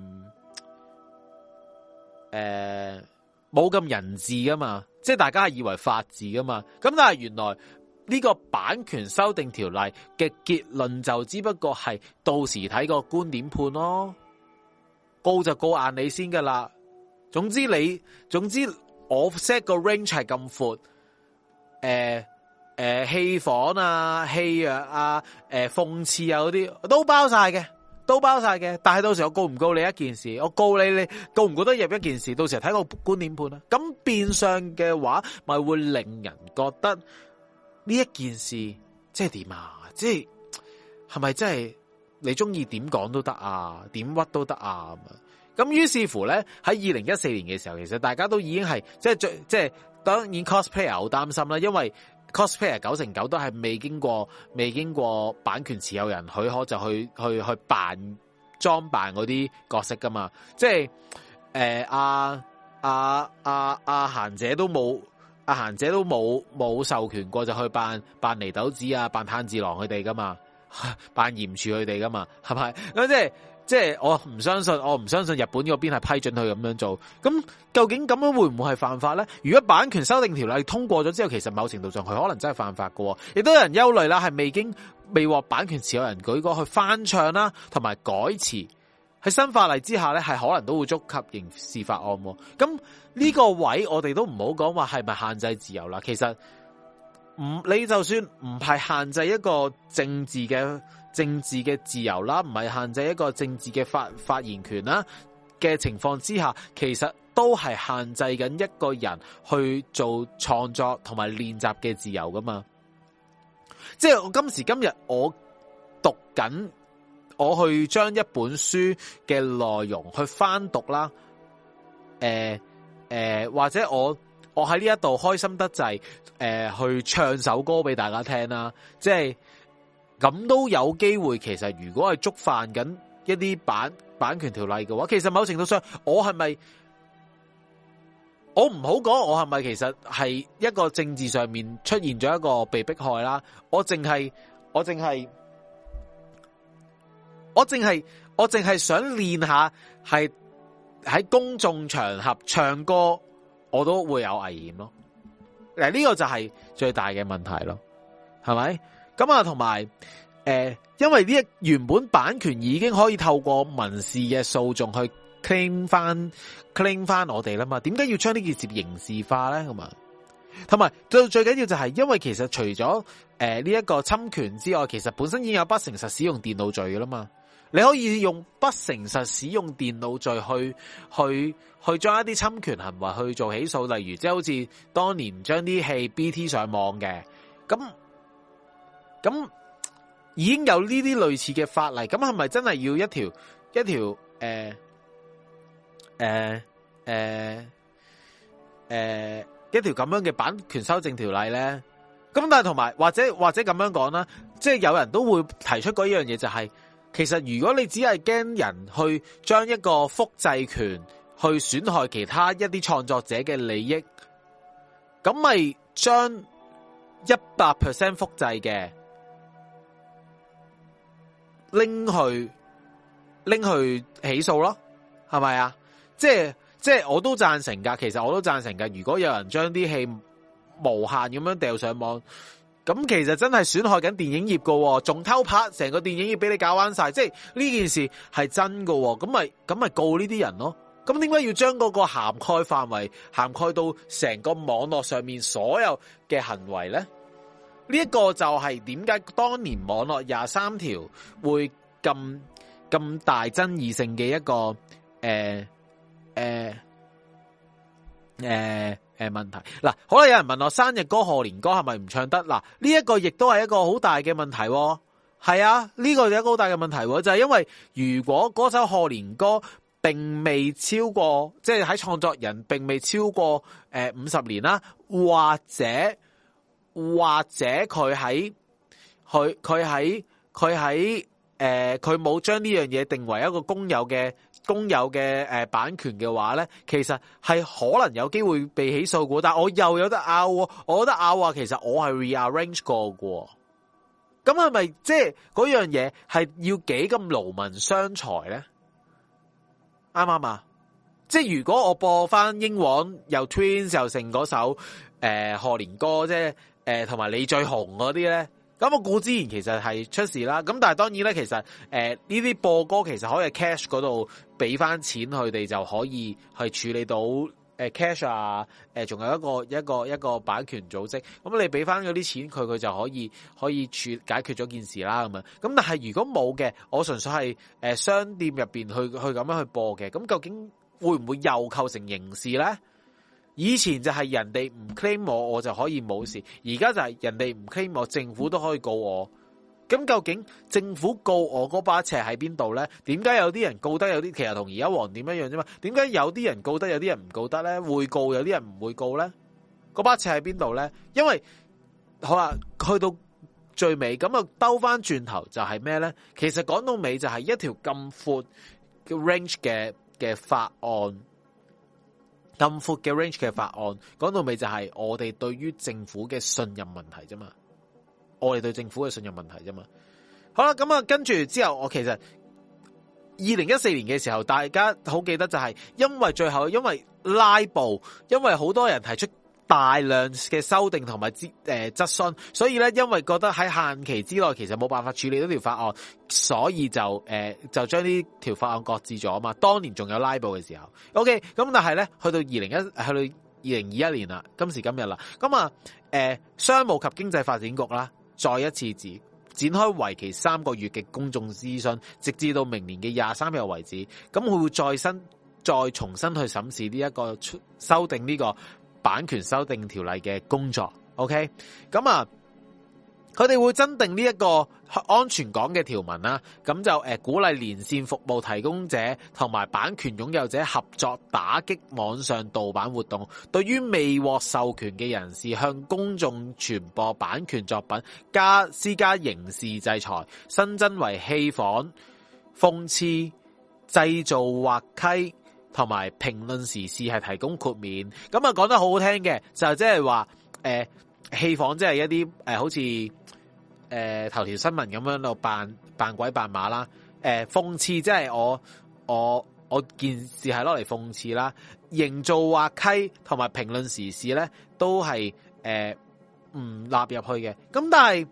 誒冇咁人治噶嘛，即係大家係以為法治噶嘛，咁但係原來呢個版權修訂條例嘅結論就只不過係到時睇個觀點判咯，告就告硬你先噶啦，總之你總之。我 set 個 range 係咁闊，誒誒戲仿啊、戲藥啊、誒、呃、諷刺啊嗰啲都包晒嘅，都包晒嘅。但係到時我告唔告你一件事，我告你你告唔告得入一件事，到時睇個觀點判啦。咁變相嘅話，咪會令人覺得呢一件事即係點啊？即係係咪真係你中意點講都得啊？點屈都得啊？咁於是乎咧，喺二零一四年嘅時候，其實大家都已經係即係最即係當然 cosplayer 好擔心啦，因為 cosplayer 九成九都係未經過未經過版權持有人許可就去去去扮裝扮嗰啲角色噶嘛，即係誒阿阿阿阿嫻姐都冇阿嫻姐都冇冇授權過就去扮扮禰豆子啊，扮炭治郎佢哋噶嘛，扮炎柱佢哋噶嘛，係咪咁即係？即係我唔相信，我唔相信日本嗰邊係批准佢咁樣做。咁究竟咁樣會唔會係犯法咧？如果版權修訂條例通過咗之後，其實某程度上佢可能真係犯法喎。亦都有人憂慮啦，係未經未獲版權持有人舉過去翻唱啦，同埋改詞喺新法例之下咧，係可能都會觸及刑事法案。咁呢個位我哋都唔好講話係咪限制自由啦。其實唔你就算唔係限制一個政治嘅。政治嘅自由啦，唔係限制一個政治嘅發發言權啦嘅情況之下，其實都係限制緊一個人去做創作同埋練習嘅自由噶嘛。即係我今時今日我讀緊，我去將一本書嘅內容去翻讀啦，誒、呃、誒、呃，或者我我喺呢一度開心得滯，誒、呃，去唱首歌俾大家聽啦，即係。咁都有機會，其實如果係觸犯緊一啲版版權條例嘅話，其實某程度上，我係咪我唔好講，我係咪其實係一個政治上面出現咗一個被迫害啦？我淨係我淨係我淨係我淨係想練下，係喺公眾場合唱歌，我都會有危險咯。嗱，呢個就係最大嘅問題咯，係咪？咁啊，同埋誒，因為呢一原本版權已經可以透過民事嘅訴訟去 claim 翻 claim 翻我哋啦嘛，點解要將呢件事刑事化咧？咁啊，同埋最最緊要就係，因為其實除咗誒呢一個侵權之外，其實本身已經有不誠實使用電腦罪噶啦嘛，你可以用不誠實使用電腦罪去去去將一啲侵權行為去做起訴，例如即係好似當年將啲戲 B T 上網嘅咁。咁已經有呢啲類似嘅法例，咁係咪真係要一條一條誒誒誒誒一條咁樣嘅版權修正條例咧？咁但係同埋或者或者咁樣講啦，即係有人都會提出嗰一樣嘢，就係其實如果你只係驚人去將一個複製權去損害其他一啲創作者嘅利益，咁咪將一百 percent 複製嘅。拎去拎去起訴咯，係咪啊？即係即係我都贊成噶，其實我都贊成噶。如果有人將啲戲無限咁樣掉上網，咁其實真係損害緊電影業噶，仲偷拍成個電影業俾你搞彎晒，即係呢件事係真噶，咁咪咁咪告呢啲人咯。咁點解要將嗰個涵蓋範圍涵蓋到成個網絡上面所有嘅行為咧？呢一個就係點解當年網絡廿三條會咁咁大爭議性嘅一個誒誒誒誒誒問題。嗱，好啦，有人問我生日歌賀年歌係咪唔唱得？嗱，呢一個亦都係一個好大嘅問題。係啊，呢個有一個好大嘅問題，就係因為如果嗰首賀年歌並未超過，即係喺創作人並未超過誒五十年啦，或者或者佢喺佢佢喺佢喺誒佢冇將呢樣嘢定為一個公有嘅公有嘅誒版權嘅話咧，其實係可能有機會被起訴嘅。但係我又有得拗，我覺得拗話其實我係 rearrange 過嘅。咁係咪即係嗰樣嘢係要幾咁勞民傷財咧？啱唔啱啊？即係如果我播翻英皇又 Twins 又成嗰首誒賀年歌，即係誒同埋你最紅嗰啲咧，咁我固之然其實係出事啦。咁但係當然咧，其實誒呢啲播歌其實可以 cash 嗰度俾翻錢佢哋就可以去處理到。誒 cash 啊，誒仲有一個一個一個版權組織，咁你俾翻嗰啲錢佢，佢就可以可以處解決咗件事啦咁樣。咁但係如果冇嘅，我純粹係誒商店入邊去去咁樣去播嘅，咁究竟會唔會又構成刑事咧？以前就係人哋唔 claim 我，我就可以冇事，而家就係人哋唔 claim 我，政府都可以告我。咁究竟政府告我嗰把尺喺邊度咧？點解有啲人告得，有啲其實同而家黃店一樣啫嘛？點解有啲人告得，有啲人唔告得咧？會告，有啲人唔會告咧？嗰把尺喺邊度咧？因為好啦，去到最尾咁啊，兜翻轉頭就係咩咧？其實講到尾就係一條咁闊嘅 range 嘅嘅法案，咁闊嘅 range 嘅法案，講到尾就係我哋對於政府嘅信任問題啫嘛。我哋對政府嘅信任問題啫嘛。好啦，咁啊，跟住之後，我其實二零一四年嘅時候，大家好記得就係因為最後因為拉布，因為好多人提出大量嘅修訂同埋誒質詢，所以咧因為覺得喺限期之內其實冇辦法處理到條法案，所以就誒、呃、就將呢條法案擱置咗啊嘛。當年仲有拉布嘅時候 ，OK，咁但係咧去到二零一去到二零二一年啦，今時今日啦，咁啊誒商務及經濟發展局啦。再一次展展開為期三個月嘅公眾諮詢，直至到明年嘅廿三日為止。咁佢會再新再重新去審視呢一個修訂呢個版權修訂條例嘅工作。OK，咁啊，佢哋會增訂呢一個安全港嘅條文啦。咁就誒鼓勵連線服務提供者同埋版權擁有者合作，打擊網上盜版活動。對於未獲授權嘅人士，向公眾傳播版權作品加施加刑事制裁，新增為戲仿、諷刺、製造滑稽同埋評論時事係提供豁免。咁啊講得好好聽嘅，就即係話誒戲仿即係一啲誒、呃、好似誒、呃、頭條新聞咁樣度扮扮鬼扮馬啦。誒、呃、諷刺即係我我我件事係攞嚟諷刺啦。營造滑稽同埋評論時事咧，都係誒唔納入去嘅。咁但係，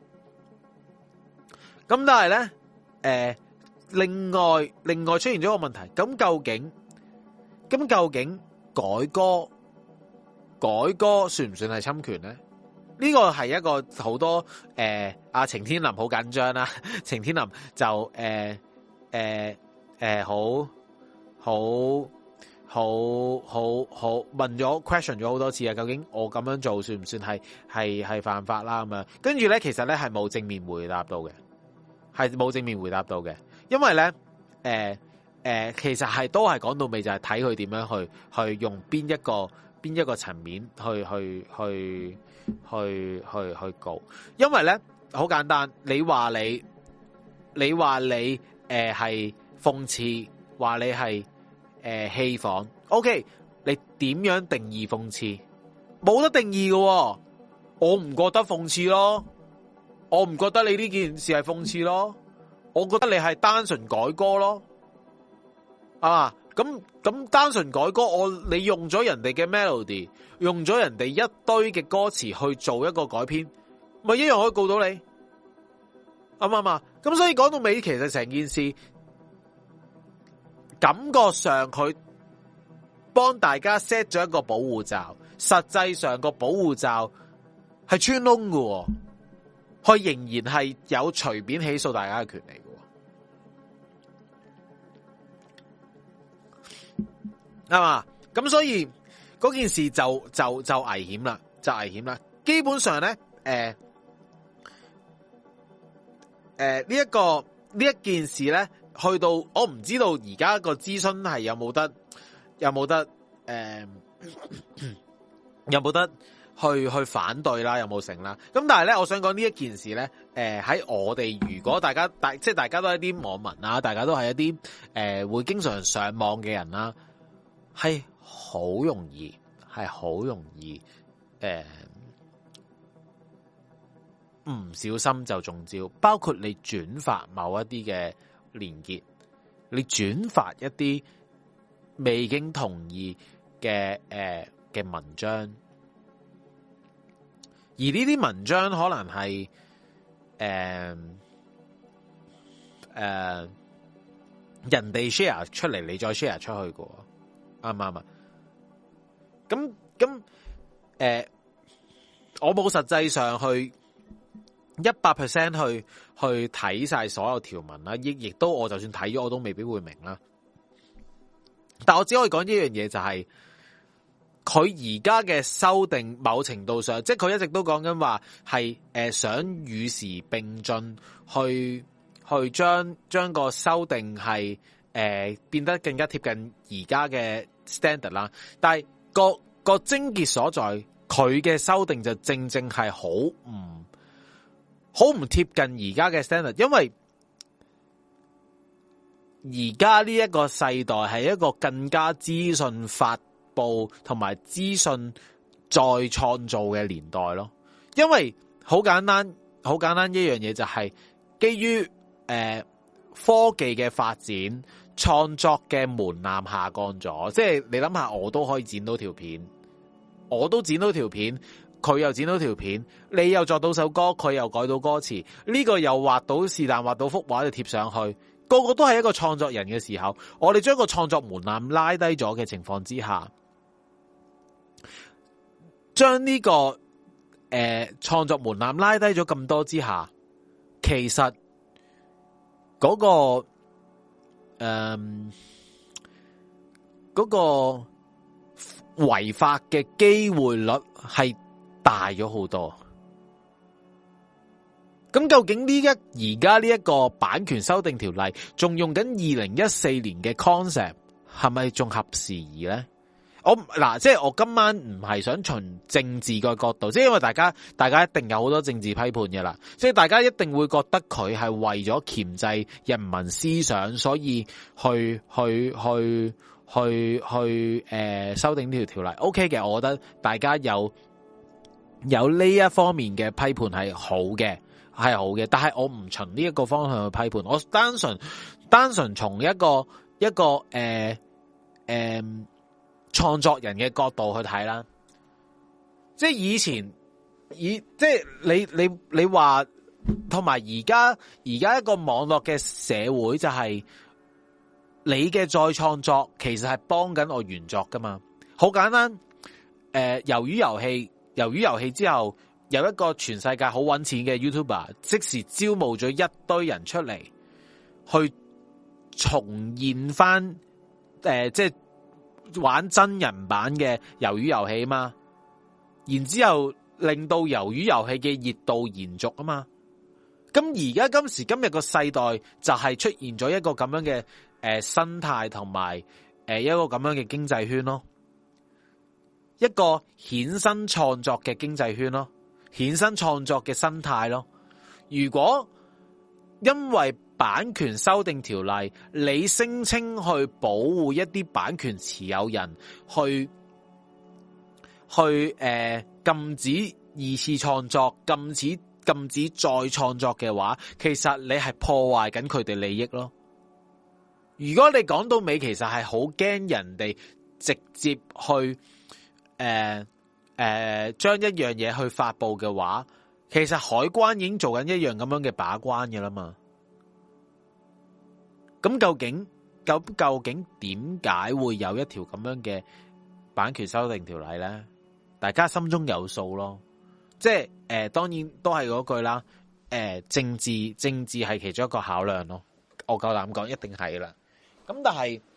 咁但係咧，誒、呃、另外另外出現咗個問題。咁究竟，咁究竟改歌改歌算唔算係侵權咧？呢個係一個好多誒阿程天林好緊張啦。程天林就誒誒誒好好。好好好問咗 question 咗好多次啊！究竟我咁樣做算唔算係係係犯法啦？咁樣跟住咧，其實咧係冇正面回答到嘅，係冇正面回答到嘅，因為咧誒誒，其實係都係講到尾就係睇佢點樣去去用邊一個邊一個層面去去去去去去告，因為咧好簡單，你話你你話你誒係諷刺，話你係。誒，戲仿 ，OK， 你點樣定義諷刺？冇得定義嘅，我唔覺得諷刺咯，我唔覺得你呢件事係諷刺咯，我覺得你係單純改歌咯，啊，咁咁單純改歌，我你用咗人哋嘅 melody， 用咗人哋一堆嘅歌詞去做一個改編，咪一樣可以告到你，啱唔啱啊？咁所以講到尾，其實成件事。感覺上佢幫大家 set 咗一個保護罩，實際上個保護罩係穿窿嘅，佢仍然係有隨便起訴大家嘅權利嘅，啱嘛？咁所以嗰件事就就就危險啦，就危險啦。基本上咧，誒誒呢一個呢一件事咧，去到我唔知道而家個諮詢係有冇得有冇得誒、呃、有冇得去去反對啦，有冇成啦？咁但係咧，我想講呢一件事咧，誒、呃、喺我哋如果大家大即係大家都係一啲網民啦，大家都係一啲誒、呃、會經常上網嘅人啦，係好容易係好容易誒唔、呃、小心就中招，包括你轉發某一啲嘅連結，你轉發一啲未經同意嘅誒嘅文章，而呢啲文章可能係誒誒人哋 share 出嚟，你再 share 出去嘅，啱唔啱啊？咁咁誒，我冇實際上去一百 percent 去去睇晒所有條文啦，亦亦都我就算睇咗，我都未必會明啦。但我只可以講一樣嘢，就係佢而家嘅修訂，某程度上，即係佢一直都講緊話係誒想與時並進，去去將將個修訂係誒變得更加貼近而家嘅 standard 啦。但係個個症結所在，佢嘅修訂就正正係好唔好唔貼近而家嘅 standard，因為而家呢一個世代係一個更加資訊發布同埋資訊再創造嘅年代咯。因為好簡單，好簡單一樣嘢就係基於誒、呃、科技嘅發展，創作嘅門檻下降咗。即係你諗下，我都可以剪到條片，我都剪到條片，佢又剪到條片，你又作到首歌，佢又改到歌詞，呢個又畫到是但畫到幅畫就貼上去。個個都係一個創作人嘅時候，我哋將個創作門檻拉低咗嘅情況之下，將呢、這個誒創、呃、作門檻拉低咗咁多之下，其實嗰、那個誒嗰、呃那個違法嘅機會率係大咗好多。咁究竟呢一而家呢一個版權修訂條例仲用緊二零一四年嘅 concept 係咪仲合時宜咧？我嗱，即係我今晚唔係想從政治個角度，即係因為大家大家一定有好多政治批判嘅啦，即係大家一定會覺得佢係為咗鉗制人民思想，所以去去去去去誒、呃、修訂呢條條例。OK 嘅，我覺得大家有有呢一方面嘅批判係好嘅。係好嘅，但係我唔從呢一個方向去批判，我單純單純從一個一個誒誒創作人嘅角度去睇啦。即係以前以即係你你你話，同埋而家而家一個網絡嘅社會就係你嘅再創作其實係幫緊我原作噶嘛。好簡單，誒、呃，魷魚遊戲，魷魚遊戲之後。有一個全世界好搵錢嘅 YouTuber， 即時招募咗一堆人出嚟，去重現翻誒、呃，即係玩真人版嘅魷魚遊戲嘛。然之後令到魷魚遊戲嘅熱度延續啊嘛。咁而家今時今日個世代就係出現咗一個咁樣嘅誒、呃、生態同埋誒一個咁樣嘅經濟圈咯，一個衍生創作嘅經濟圈咯。衍生創作嘅生態咯。如果因為版權修訂條例，你聲稱去保護一啲版權持有人，去去誒、呃、禁止二次創作，禁止禁止再創作嘅話，其實你係破壞緊佢哋利益咯。如果你講到尾，其實係好驚人哋直接去誒。呃誒、呃，將一樣嘢去發布嘅話，其實海關已經做緊一樣咁樣嘅把關嘅啦嘛。咁究竟究究竟點解會有一條咁樣嘅版權修訂條例咧？大家心中有數咯。即係誒、呃，當然都係嗰句啦。誒、呃，政治政治係其中一個考量咯。我夠膽講，一定係啦。咁但係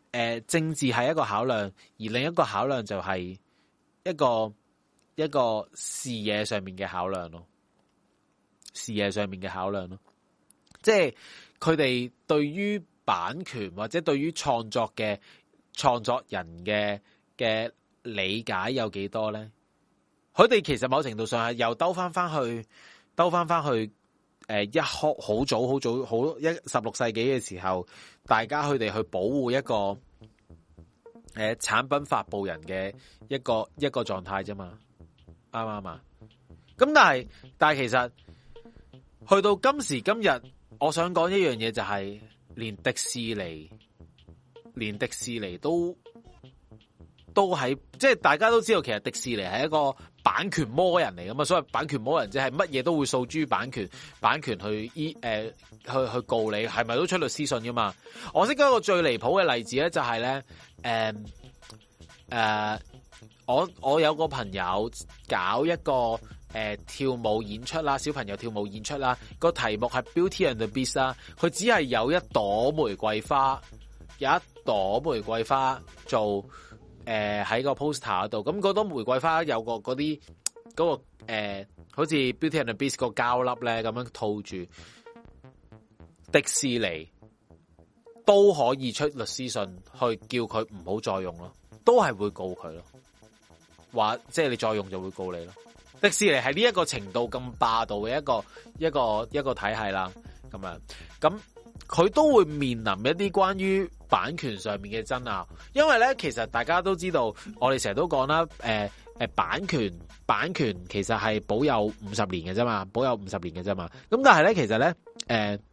呃、政治係一個考量，而另一個考量就係一個一個視野上面嘅考量咯，視野上面嘅考量咯，即係佢哋對於版權或者對於創作嘅創作人嘅嘅理解有幾多咧？佢哋其實某程度上係又兜翻翻去，兜翻翻去，誒，一開好早好早好一十六世紀嘅時候，大家佢哋去保護一個誒、呃、產品發布人嘅一個一個狀態啫嘛，啱唔啱啊？咁但係但係其實去到今時今日，我想講一樣嘢就係、是，連迪士尼，連迪士尼都。都喺即係大家都知道，其實迪士尼係一個版權魔人嚟噶嘛，所謂版權魔人即係乜嘢都會訴諸版權，版權去依誒、呃、去去告你，係咪都出律師信噶嘛？我識得一個最離譜嘅例子咧，就係咧誒誒，我我有個朋友搞一個誒、呃、跳舞演出啦，小朋友跳舞演出啦，個題目係 Beauty and the Beast 啦，佢只係有一朵玫瑰花，有一朵玫瑰花做。誒，喺、呃、個 poster 度，咁嗰朵玫瑰花有個嗰啲嗰個誒、呃，好似 Beauty and the Beast 個膠粒咧，咁樣套住，迪士尼都可以出律師信去叫佢唔好再用咯，都係會告佢咯，話即係你再用就會告你咯。迪士尼係呢一個程度咁霸道嘅一個一個一個體系啦，咁樣咁。佢都會面臨一啲關於版權上面嘅爭拗，因為咧，其實大家都知道，我哋成日都講啦，誒、呃、誒，版權版權其實係保有五十年嘅啫嘛，保有五十年嘅啫嘛。咁但係咧，其實咧，誒、呃、誒、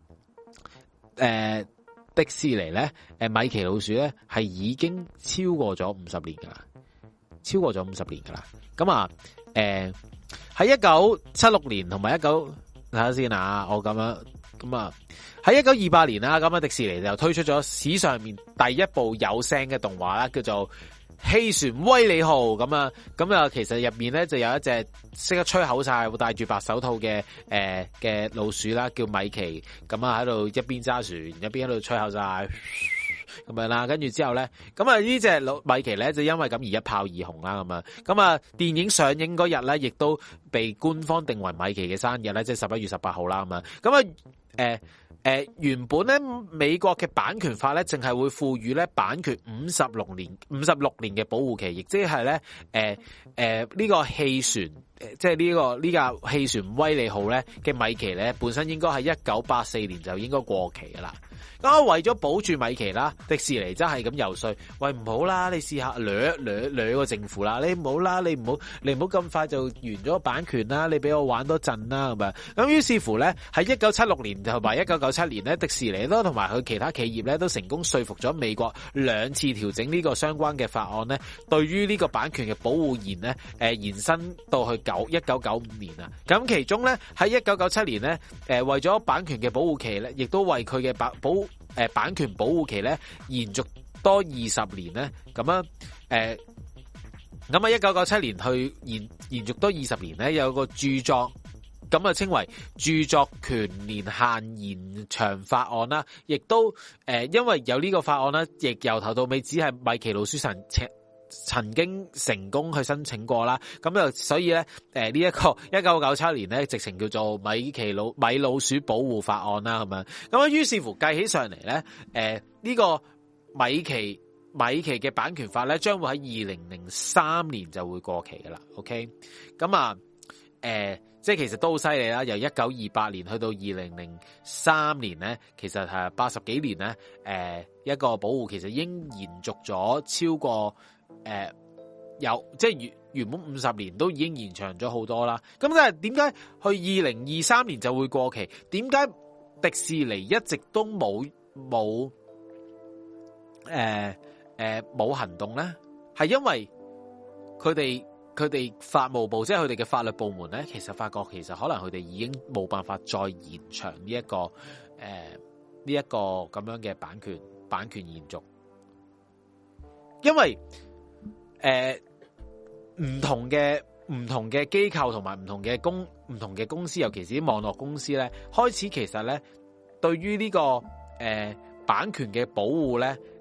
呃，迪士尼咧，誒，米奇老鼠咧，係已經超過咗五十年噶啦，超過咗五十年噶啦。咁啊，誒、呃，喺一九七六年同埋一九睇下先啊，我咁樣咁啊。喺一九二八年啦，咁啊迪士尼就推出咗史上面第一部有聲嘅動畫啦，叫做《汽船威利號》咁啊，咁啊其實入面咧就有一隻識得吹口哨、會戴住白手套嘅誒嘅老鼠啦，叫米奇，咁啊喺度一邊揸船一邊喺度吹口哨咁樣啦，跟住之後咧，咁啊呢隻老米奇咧就因為咁而一炮而紅啦，咁啊，咁啊電影上映嗰日咧，亦都被官方定為米奇嘅生日咧，即係十一月十八號啦，咁啊，咁啊誒。誒、呃，原本咧美國嘅版權法咧，淨係會賦予咧版權五十六年、五十六年嘅保護期，亦即係咧，誒、呃、誒呢、呃這個汽船，誒即係呢個呢架汽船威利號咧嘅米奇咧，本身應該係一九八四年就應該過期噶啦。咁為咗保住米奇啦，迪士尼真係咁游說，喂唔好啦，你試下掠掠掠個政府啦，你唔好啦，你唔好你唔好咁快就完咗版權啦，你俾我玩多陣啦咁樣。咁於是乎咧，喺一九七六年同埋一九九七年咧，迪士尼都同埋佢其他企業咧都成功說服咗美國兩次調整呢個相關嘅法案咧，對於呢個版權嘅保護延咧，誒、呃、延伸到去九一九九五年啊。咁其中咧喺一九九七年咧，誒、呃、為咗版權嘅保護期咧，亦都為佢嘅保保誒版權保護期咧延續多二十年咧，咁樣誒，咁啊一九九七年去延延續多二十年咧，有個著作咁啊稱為著作權年限延長法案啦，亦都誒、呃、因為有呢個法案啦，亦由頭到尾只係米奇老鼠神曾經成功去申請過啦，咁就所以咧，誒呢一個一九九七年咧，直情叫做米奇老米老鼠保護法案啦，咁樣，咁啊於是乎計起上嚟咧，誒、呃、呢、呢個米奇米奇嘅版權法咧，將會喺二零零三年就會過期噶啦 ，OK，咁啊，誒、呃、即係其實都好犀利啦，由一九二八年去到二零零三年咧，其實係八十幾年咧，誒、呃、一個保護其實已經延續咗超過。誒、呃，有即係原原本五十年都已經延長咗好多啦。咁但係點解去二零二三年就會過期？點解迪士尼一直都冇冇誒誒冇行動咧？係因為佢哋佢哋法務部即係佢哋嘅法律部門咧，其實發覺其實可能佢哋已經冇辦法再延長呢、這、一個誒呢一個咁樣嘅版權版權延續，因為。誒，唔、呃、同嘅唔同嘅機構同埋唔同嘅公唔同嘅公司，尤其是啲網絡公司咧，開始其實咧對於呢、這個誒、呃、版權嘅保護咧，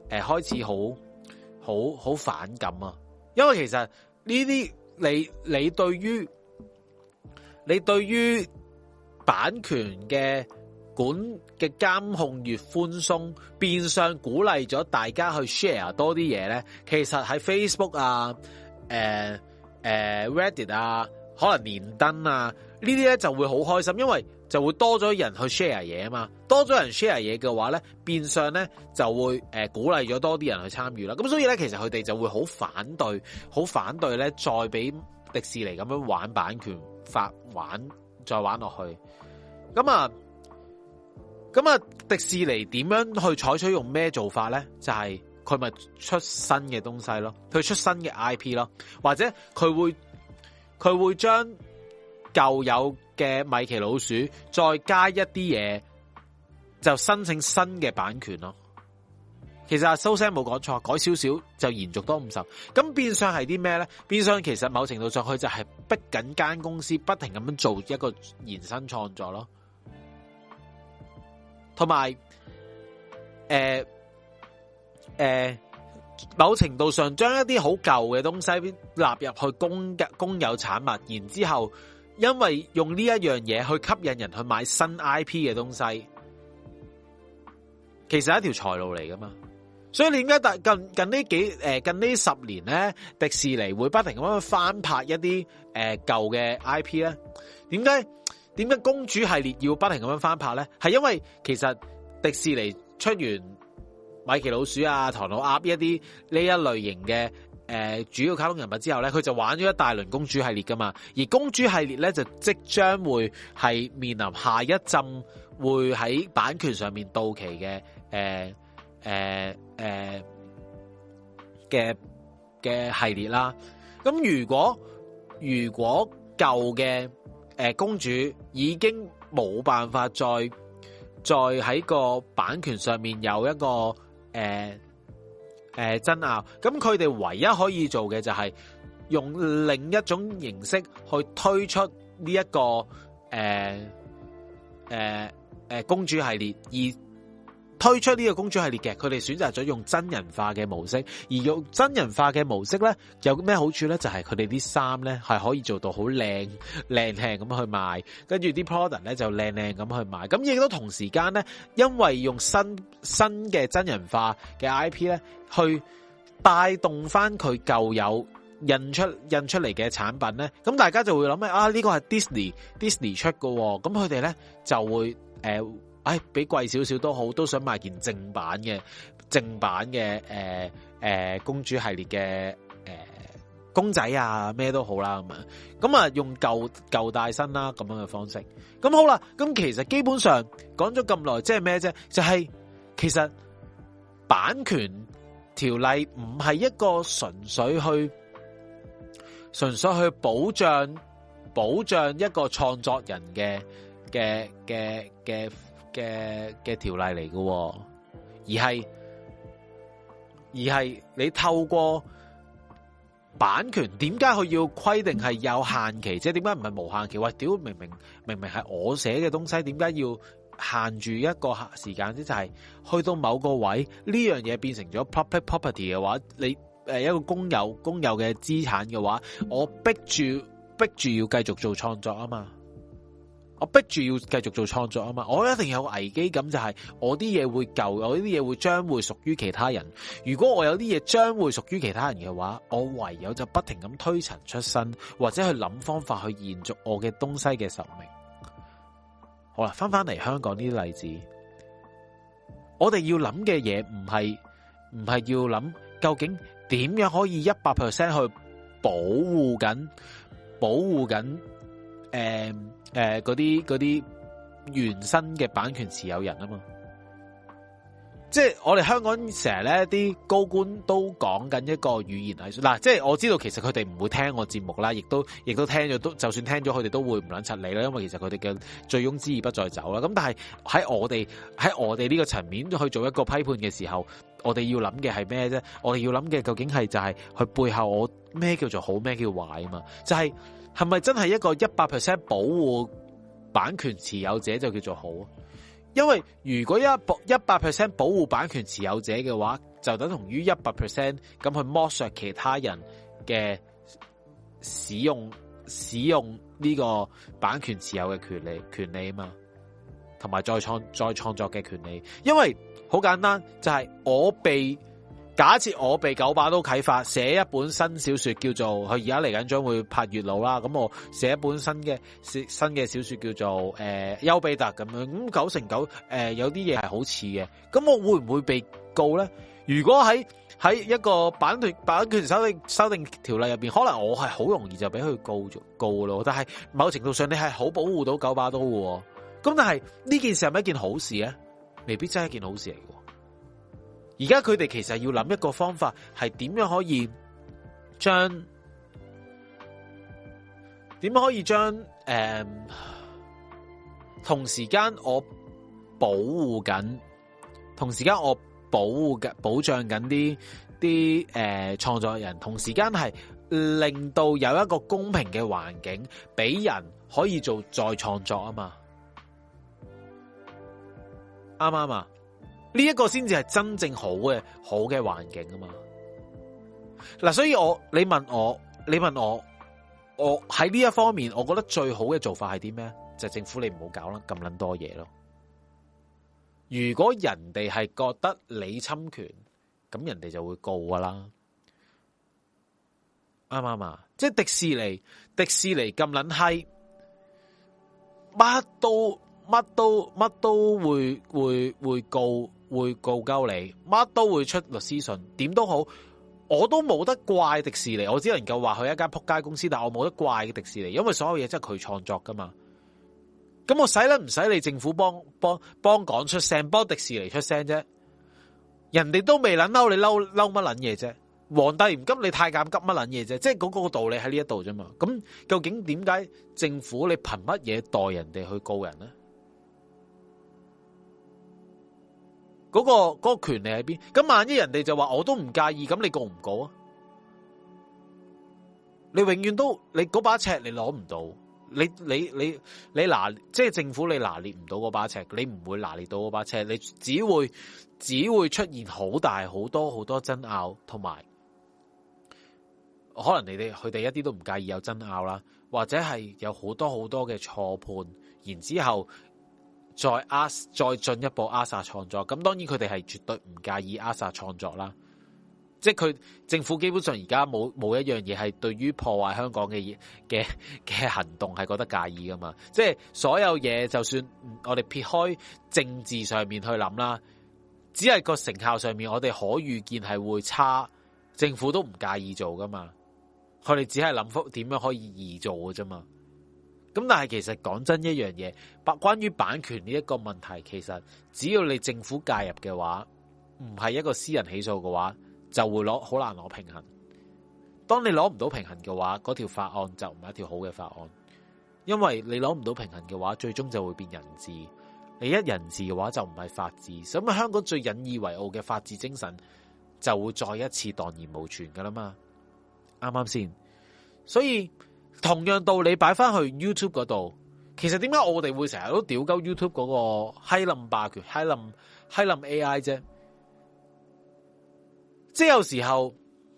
呃、開始好好好反感啊，因為其實呢啲你你對於你對於版權嘅管嘅監控越寬鬆，變相鼓勵咗大家去 share 多啲嘢咧。其實喺 Facebook 啊、誒、呃、誒、呃、Reddit 啊、可能連登啊呢啲咧就會好開心，因為就會多咗人去 share 嘢啊嘛。多咗人 share 嘢嘅話咧，變相咧就會誒、呃、鼓勵咗多啲人去參與啦。咁所以咧，其實佢哋就會好反對，好反對咧，再俾迪士尼咁樣玩版權法玩，再玩落去。咁啊。咁啊，迪士尼點樣去採取用咩做法咧？就係佢咪出新嘅東西咯，佢出新嘅 I P 咯，或者佢會佢會將舊有嘅米奇老鼠再加一啲嘢，就申請新嘅版權咯。其實阿蘇生冇講錯，改少少就延續多五十。咁變相係啲咩咧？變相其實某程度上佢就係逼緊間公司不停咁樣做一個延伸創作咯。同埋，誒、呃、誒、呃，某程度上將一啲好舊嘅東西納入去公嘅公有產物，然之後因為用呢一樣嘢去吸引人去買新 I P 嘅東西，其實係一條財路嚟噶嘛。所以你點解近近呢幾誒近呢十年咧，迪士尼會不停咁樣翻拍一啲誒舊嘅 I P 咧？點解？點解公主系列要不停咁樣翻拍咧？係因為其實迪士尼出完米奇老鼠啊、唐老鴨一啲呢一類型嘅誒、呃、主要卡通人物之後咧，佢就玩咗一大輪公主系列噶嘛。而公主系列咧就即將會係面臨下一陣會喺版權上面到期嘅誒誒誒嘅嘅系列啦。咁如果如果舊嘅誒、呃，公主已經冇辦法再再喺個版權上面有一個誒誒、呃呃、爭拗，咁佢哋唯一可以做嘅就係用另一種形式去推出呢、這、一個誒誒誒公主系列，而推出呢個公主系列嘅，佢哋選擇咗用真人化嘅模式，而用真人化嘅模式咧，有咩好處咧？就係佢哋啲衫咧係可以做到好靚靚靚咁去賣，跟住啲 product 咧就靚靚咁去賣。咁亦都同時間咧，因為用新新嘅真人化嘅 I P 咧，去帶動翻佢舊有印出印出嚟嘅產品咧，咁大家就會諗啊，呢、這個係 Disney Disney 出嘅，咁佢哋咧就會誒。呃唉，比貴少少都好，都想買件正版嘅正版嘅誒誒公主系列嘅誒、呃、公仔啊，咩都好啦咁啊，咁啊用舊舊帶新啦咁樣嘅方式，咁好啦，咁其實基本上講咗咁耐，即係咩啫？就係、是、其實版權條例唔係一個純粹去純粹去保障保障一個創作人嘅嘅嘅嘅。嘅嘅條例嚟嘅，而係而係你透過版權，點解佢要規定係有限期？即係點解唔係無限期？喂，屌，明明明明係我寫嘅東西，點解要限住一個時間？即就係去到某個位，呢樣嘢變成咗 public property 嘅話，你誒一個公有公有嘅資產嘅話，我逼住逼住要繼續做創作啊嘛。我逼住要繼續做創作啊嘛，我一定有危機感，就係我啲嘢會舊，我啲嘢會將會屬於其他人。如果我有啲嘢將會屬於其他人嘅話，我唯有就不停咁推陳出新，或者去諗方法去延續我嘅東西嘅壽命。好啦，翻翻嚟香港呢啲例子，我哋要諗嘅嘢唔係唔係要諗究竟點樣可以一百 percent 去保護緊保護緊誒。呃誒，嗰啲嗰啲原生嘅版權持有人啊嘛，即係我哋香港成日咧啲高官都講緊一個語言藝術嗱，即係我知道其實佢哋唔會聽我節目啦，亦都亦都聽咗都就算聽咗佢哋都會唔撚柒你啦，因為其實佢哋嘅醉翁之意不在酒啦。咁但係喺我哋喺我哋呢個層面去做一個批判嘅時候，我哋要諗嘅係咩啫？我哋要諗嘅究竟係就係佢背後我咩叫做好，咩叫壞啊嘛？就係、是。係咪真係一個一百 percent 保護版權持有者就叫做好？ 因為如果一保一百 percent 保護版權持有者嘅話，就等同於一百 percent 咁去剝削其他人嘅使用使用呢個版權持有嘅權利權利啊嘛，同埋再創再創作嘅權利。因為好簡單，就係、是、我被假設我被九把刀啟發寫一本新小說，叫做佢而家嚟緊將會拍月老啦。咁我寫一本新嘅新嘅小說叫做誒丘比特咁樣。咁九成九誒、呃、有啲嘢係好似嘅。咁我會唔會被告咧？如果喺喺一個版權版權修訂修訂條例入邊，可能我係好容易就俾佢告咗告咯。但係某程度上你係好保護到九把刀嘅。咁但係呢件事係咪一件好事咧？未必真係一件好事嚟嘅。而家佢哋其實要諗一個方法，係點樣可以將點樣可以將誒、呃、同時間我保護緊，同時間我保護緊保障緊啲啲誒創作人，同時間係令到有一個公平嘅環境，俾人可以做再創作啊嘛，啱唔啱啊？呢一個先至係真正好嘅好嘅環境啊嘛。嗱，所以我你問我你問我我喺呢一方面，我覺得最好嘅做法係啲咩？就係政府你唔好搞啦，咁撚多嘢咯。如果人哋係覺得你侵權，咁人哋就會告噶啦，啱唔啱啊？即係迪士尼，迪士尼咁撚閪，乜都乜都乜都會會會告。會告鳩你，乜都會出律師信，點都好，我都冇得怪迪士尼，我只能夠話佢一間撲街公司，但我冇得怪迪士尼，因為所有嘢真係佢創作噶嘛。咁我使咧唔使你政府幫幫幫講出聲，幫迪士尼出聲啫？人哋都未撚嬲，你嬲嬲乜撚嘢啫？皇帝唔急，你太監急乜撚嘢啫？即係嗰個道理喺呢一度啫嘛。咁究竟點解政府你憑乜嘢代人哋去告人呢？嗰、那個嗰、那個權利喺邊？咁萬一人哋就話我都唔介意，咁你告唔告啊？你永遠都你嗰把尺你攞唔到，你你你你拿即係政府你拿捏唔到嗰把尺，你唔會拿捏到嗰把尺，你只會只會出現好大好多好多爭拗，同埋可能你哋佢哋一啲都唔介意有爭拗啦，或者係有好多好多嘅錯判，然之後。再壓再進一步扼殺創作，咁當然佢哋係絕對唔介意扼殺創作啦。即係佢政府基本上而家冇冇一樣嘢係對於破壞香港嘅嘢嘅嘅行動係覺得介意噶嘛。即係所有嘢，就算我哋撇開政治上面去諗啦，只係個成效上面，我哋可預見係會差，政府都唔介意做噶嘛。佢哋只係諗翻點樣可以易做嘅啫嘛。咁但係其實講真一樣嘢，關於版權呢一個問題，其實只要你政府介入嘅話，唔係一個私人起訴嘅話，就會攞好難攞平衡。當你攞唔到平衡嘅話，嗰條法案就唔係一條好嘅法案，因為你攞唔到平衡嘅話，最終就會變人治。你一人治嘅話就唔係法治，咁香港最引以為傲嘅法治精神就會再一次蕩然無存噶啦嘛，啱啱先？所以。同樣道理擺翻去 YouTube 嗰度，其實點解我哋會成日都屌鳩 YouTube 嗰個閪冧霸權、閪冧閪冧 A I 啫？即係有時候，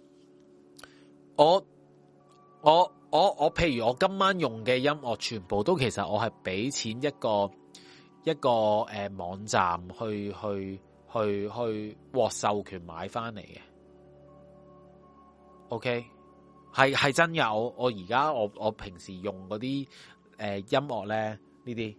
我我我我，譬如我今晚用嘅音樂，全部都其實我係俾錢一個一個誒、呃、網站去去去去獲授權買翻嚟嘅。OK。係係真嘅，我我而家我我平時用嗰啲誒音樂咧，呢啲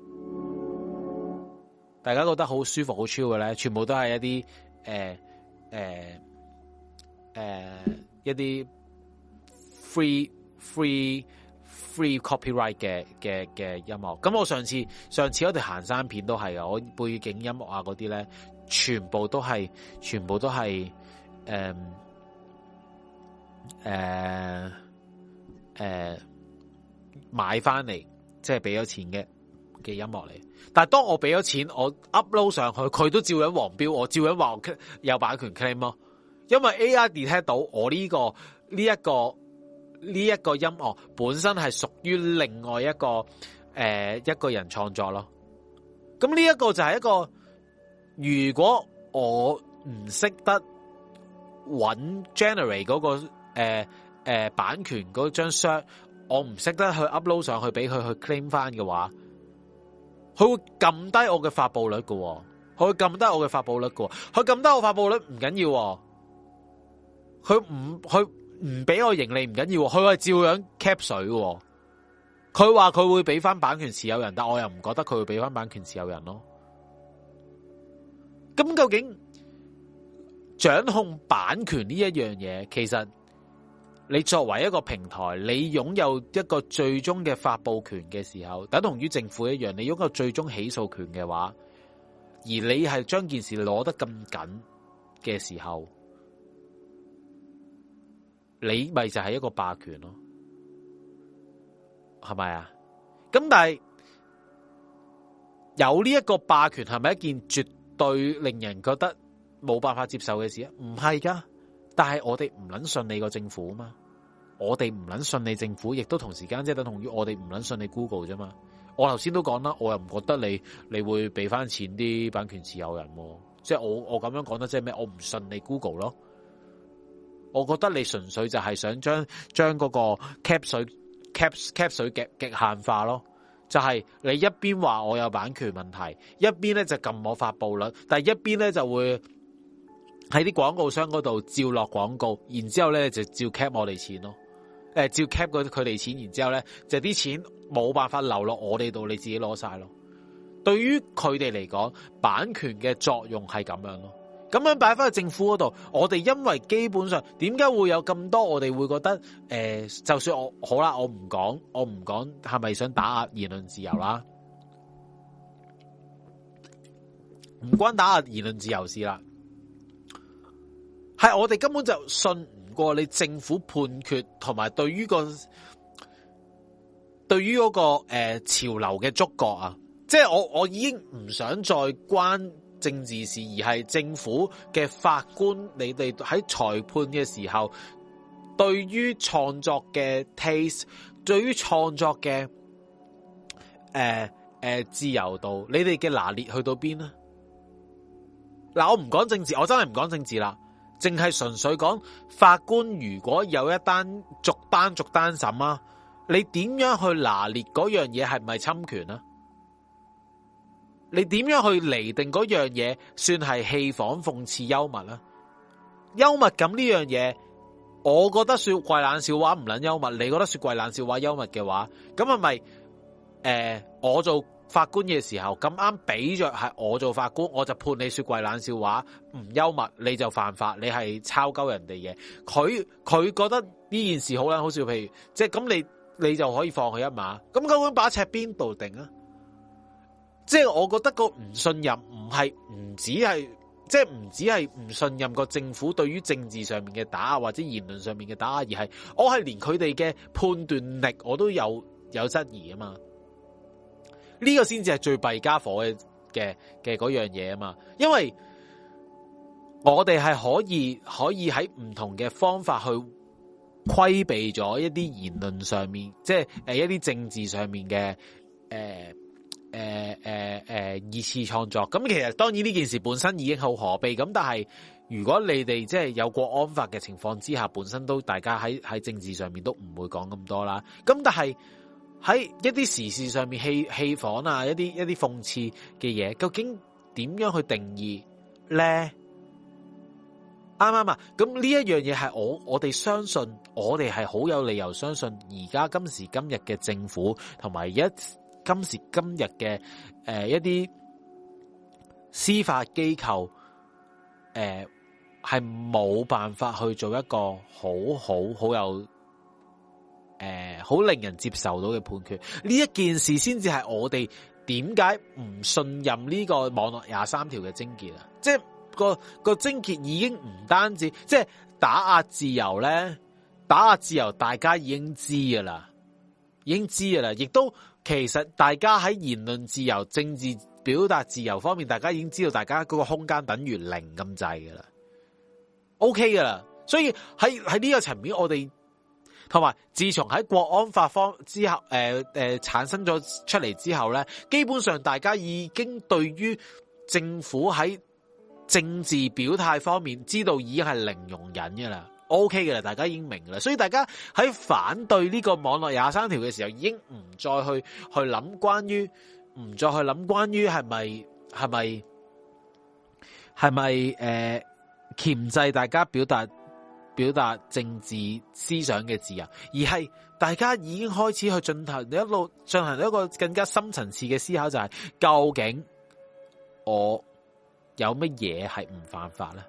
大家覺得好舒服好 chill 嘅咧，全部都係一啲誒誒誒一啲 free free free copyright 嘅嘅嘅音樂。咁我上次上次嗰條行山片都係啊，我背景音樂啊嗰啲咧，全部都係全部都係誒。呃誒、呃、誒、呃，買翻嚟即係俾咗錢嘅嘅音樂嚟，但係當我俾咗錢，我 upload 上去，佢都照樣黃標，我照樣話我有版權 claim 咯，因為 A I detect 到我呢、這個呢一、這個呢一、這個音樂本身係屬於另外一個誒、呃、一個人創作咯， 咁呢一個就係一個，如果我唔識得揾 generate 嗰個誒誒、呃呃、版權嗰張 shot，我唔識得去 upload 上去俾佢去 claim 翻嘅話，佢會撳低我嘅發佈率嘅，佢會撳低我嘅發佈率嘅，佢撳低我發佈率唔緊要，佢唔佢唔俾我盈利唔緊要，佢係照樣 cap 水嘅。佢話佢會俾翻版權持有人，但我又唔覺得佢會俾翻版權持有人咯。咁究竟掌控版權呢一樣嘢，其實你作為一個平台，你擁有一個最終嘅發佈權嘅時候，等同於政府一樣，你擁有最終起訴權嘅話，而你係將件事攞得咁緊嘅時候，你咪就係一個霸權咯。係咪啊？咁但係有呢一個霸權係咪一件絕對令人覺得冇辦法接受嘅事啊？唔係噶，但係我哋唔捻信你個政府啊嘛，我哋唔捻信你政府，亦都同時間即係等同於我哋唔捻信你 Google 啫嘛。我頭先都講啦，我又唔覺得你你會俾翻錢啲版權持有人，即係我我咁樣講得即係咩？我唔信你 Google 咯，我覺得你純粹就係想將將嗰個 cap 水。cap cap 水極極限化咯，就係、是、你一邊話我有版權問題，一邊咧就撳我發佈率，但係一邊咧就會喺啲廣告商嗰度照落廣告，然之後咧就照 cap 我哋錢咯，誒、呃、照 cap 佢哋錢，然之後咧就啲錢冇辦法流落我哋度，你自己攞晒咯。對於佢哋嚟講，版權嘅作用係咁樣咯。咁樣擺翻去政府嗰度，我哋因為基本上點解會有咁多？我哋會覺得誒、呃，就算我好啦，我唔講，我唔講係咪想打壓言論自由啦？唔關打壓言論自由事啦，係我哋根本就信唔過你政府判決，同埋對於個對於嗰個誒、呃、潮流嘅觸覺啊！即係我我已經唔想再關政治事，而係政府嘅法官，你哋喺裁判嘅時候，對於創作嘅 taste， 對於創作嘅誒誒自由度，你哋嘅拿捏去到邊呢？嗱，我唔講政治，我真係唔講政治啦，淨係純粹講法官如果有一單逐單逐單審啊，你點樣去拿捏嗰樣嘢係咪侵權啊？你點樣去釐定嗰樣嘢算係戲仿諷刺幽默呢？幽默感呢樣嘢，我覺得說怪冷笑話唔撚幽默，你覺得說怪冷笑話幽默嘅話，咁係咪誒我做法官嘅時候咁啱俾着係我做法官，我就判你說怪冷笑話唔幽默，你就犯法，你係抄鳩人哋嘅。佢佢覺得呢件事好撚好笑，譬如即係咁，你你就可以放佢一馬。咁究竟把尺邊度定啊？即係我覺得個唔信任唔係唔止係，即係唔止係唔信任個政府對於政治上面嘅打壓或者言論上面嘅打壓，而係我係連佢哋嘅判斷力我都有有質疑啊嘛。呢個先至係最弊家伙嘅嘅嘅嗰樣嘢啊嘛。因為我哋係可以可以喺唔同嘅方法去規避咗一啲言論上面，即係誒一啲政治上面嘅誒。呃誒誒誒，二次創作咁，其實當然呢件事本身已經好可悲咁，但係如果你哋即係有國安法嘅情況之下，本身都大家喺喺政治上面都唔會講咁多啦。咁但係喺一啲時事上面戲戲仿啊，一啲一啲諷刺嘅嘢，究竟點樣去定義咧？啱啱啊？咁呢一樣嘢係我我哋相信，我哋係好有理由相信，而家今時今日嘅政府同埋一。今時今日嘅誒一啲司法機構誒係冇辦法去做一個好好好有誒好令人接受到嘅判決。呢一件事先至係我哋點解唔信任呢個網絡廿三條嘅症結啊！即係個個症結已經唔單止即係打壓自由咧，打壓自由大家已經知噶啦，已經知噶啦，亦都。其實大家喺言論自由、政治表達自由方面，大家已經知道大家嗰個空間等於零咁滯噶啦，OK 噶啦。所以喺喺呢個層面，我哋同埋自從喺國安法方之後，誒、呃、誒、呃、產生咗出嚟之後咧，基本上大家已經對於政府喺政治表態方面知道已經係零容忍嘅啦。OK 嘅啦，大家已經明啦，所以大家喺反對呢個網絡廿三條嘅時候，已經唔再去去諗關於，唔再去諗關於係咪係咪係咪誒鉗制大家表達表達政治思想嘅自由，而係大家已經開始去進行一路進行一個更加深層次嘅思考，就係究竟我有乜嘢係唔犯法咧，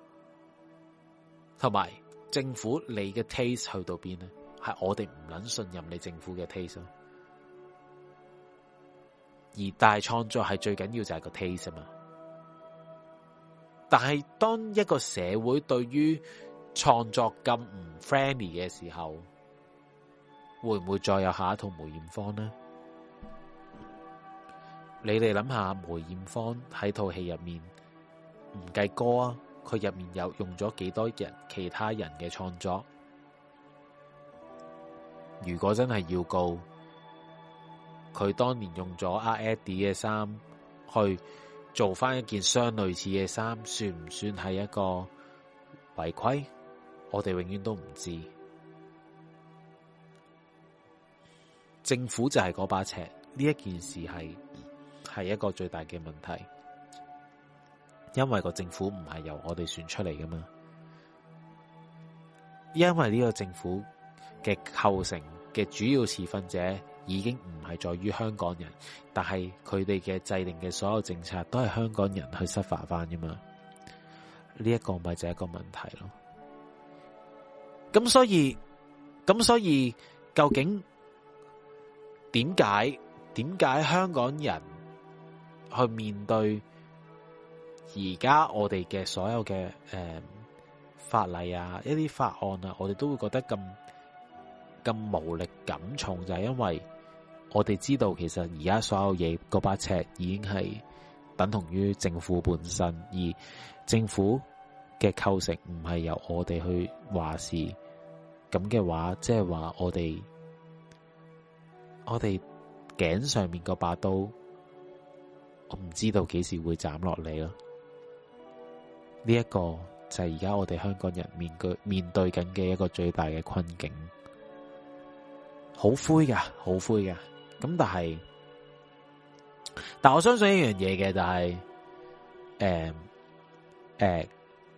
同埋。政府你嘅 taste 去到邊呢？係我哋唔捻信任你政府嘅 taste 咯。而大創作係最緊要就係個 taste 啊嘛。但係當一個社會對於創作咁唔 friendly 嘅時候，會唔會再有下一套梅艷芳呢？你哋諗下梅艷芳喺套戲入面唔計歌啊，佢入面有用咗幾多人其他人嘅創作？如果真係要告，佢當年用咗阿 Eddie 嘅衫去做翻一件相類似嘅衫，算唔算係一個違規？我哋永遠都唔知。政府就係嗰把尺，呢一件事係係一個最大嘅問題。因為個政府唔係由我哋選出嚟噶嘛，因為呢個政府嘅構成嘅主要持份者已經唔係在於香港人，但係佢哋嘅制定嘅所有政策都係香港人去執法翻噶嘛，呢一個咪就係一個問題咯。咁所以，咁所以究竟點解點解香港人去面對而家我哋嘅所有嘅誒、呃、法例啊，一啲法案啊，我哋都會覺得咁咁無力感重，就係因為我哋知道其實而家所有嘢嗰把尺已經係等同於政府本身，而政府嘅構成唔係由我哋去話事，咁嘅話，即係話我哋我哋頸上面嗰把刀，我唔知道幾時會斬落嚟咯。呢一個就係而家我哋香港人面對面對緊嘅一個最大嘅困境，好灰噶，好灰噶。咁但係，但我相信一樣嘢嘅就係，誒誒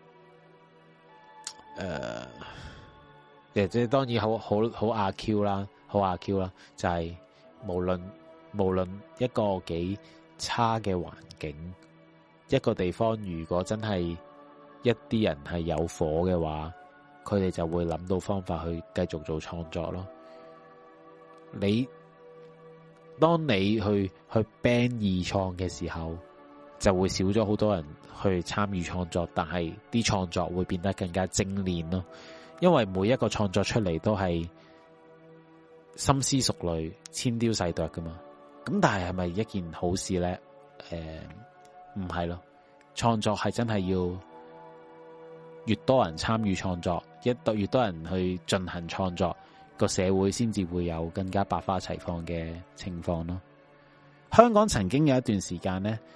誒，即係當然好好好阿 Q 啦，好阿 Q 啦，就係無論無論一個幾差嘅環境，一個地方如果真係一啲人係有火嘅話，佢哋就會諗到方法去繼續做創作咯。你當你去去 ban 二創嘅時候，就會少咗好多人去參與創作，但係啲創作會變得更加精煉咯。因為每一個創作出嚟都係深思熟慮、千雕細琢噶嘛。咁但係係咪一件好事咧？誒、呃，唔係咯。創作係真係要越多人參與創作，一越多人去進行創作，個社會先至會有更加百花齊放嘅情況咯。香港曾經有一段時間咧，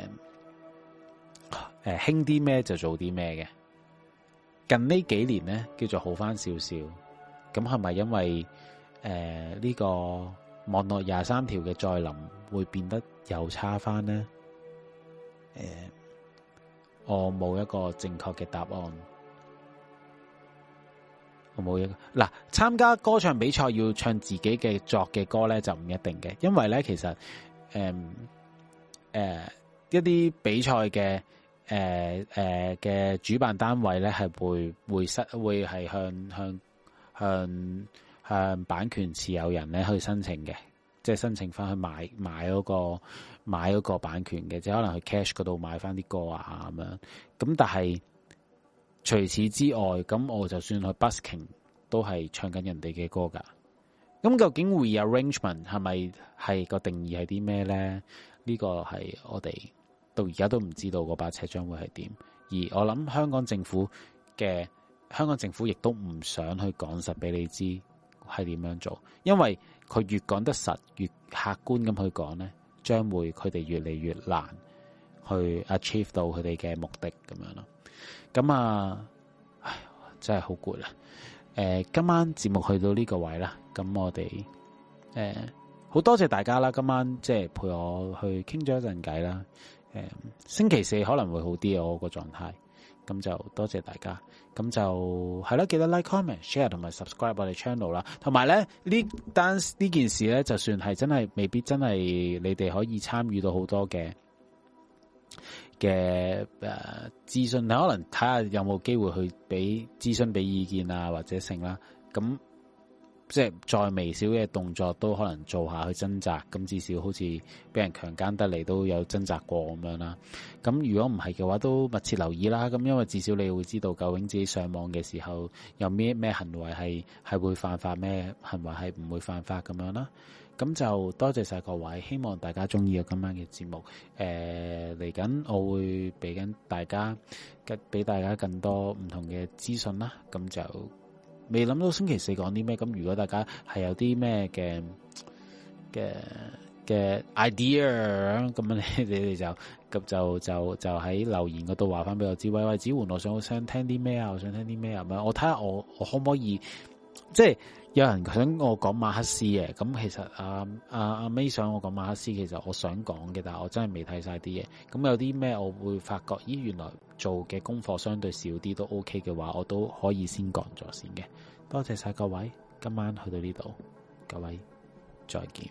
誒誒興啲咩就做啲咩嘅。近呢幾年咧叫做好翻少少，咁係咪因為誒呢、呃這個網絡廿三條嘅再臨會變得又差翻呢？誒、呃，我冇一個正確嘅答案。我冇一個嗱，參加歌唱比賽要唱自己嘅作嘅歌咧，就唔一定嘅，因為咧其實誒誒、呃呃、一啲比賽嘅誒誒嘅主辦單位咧係會會失會係向向向向版權持有人咧去申請嘅，即係申請翻去買買嗰個買嗰個版權嘅，即係可能去 cash 嗰度買翻啲歌啊咁樣。咁但係除此之外，咁我就算去 busking 都係唱緊人哋嘅歌噶。咁究竟 rearrangement 係咪係個定義係啲咩咧？呢個係我哋到而家都唔知道嗰把尺將會係點。而我諗香港政府嘅香港政府亦都唔想去講實俾你知係點樣做，因為佢越講得實，越客觀咁去講咧，將會佢哋越嚟越難去 achieve 到佢哋嘅目的咁樣咯。咁啊，唉，真係好攰啦。誒、呃，今晚節目去到呢個位啦，咁我哋誒好多謝大家啦，今晚即係陪我去傾咗一陣偈啦。誒、呃，星期四可能會好啲我個狀態，咁就多謝大家。咁就係啦，記得 like、comment、share 同埋 subscribe 我哋 channel 啦。同埋咧，呢單呢件事咧，就算係真係未必真係你哋可以參與到好多嘅嘅誒資訊，你可能睇下有冇機會去俾諮詢、俾意見啊，或者成啦。咁即係再微小嘅動作都可能做下去掙扎，咁至少好似俾人強姦得嚟都有掙扎過咁樣啦。咁如果唔係嘅話，都密切留意啦。咁因為至少你會知道究竟自己上網嘅時候有咩咩行為係係會犯法，咩行為係唔會犯法咁樣啦。咁就多謝晒各位，希望大家中意我今晚嘅節目。誒嚟緊我會俾緊大家，俾大家更多唔同嘅資訊啦。咁就未諗到星期四講啲咩，咁如果大家係有啲咩嘅嘅嘅 idea， 咁你你哋就咁就就就喺留言嗰度話翻俾我知。喂喂，子桓，我想我想聽啲咩啊？我想聽啲咩啊？咁我睇下我我可唔可以，即係有人想我講馬克思嘅，咁其實阿阿阿 May 想我講馬克思，其實我想講嘅，但係我真係未睇晒啲嘢。咁有啲咩我會發覺，咦，原來做嘅功課相對少啲都 OK 嘅話，我都可以先講咗先嘅。多謝晒各位，今晚去到呢度，各位再見。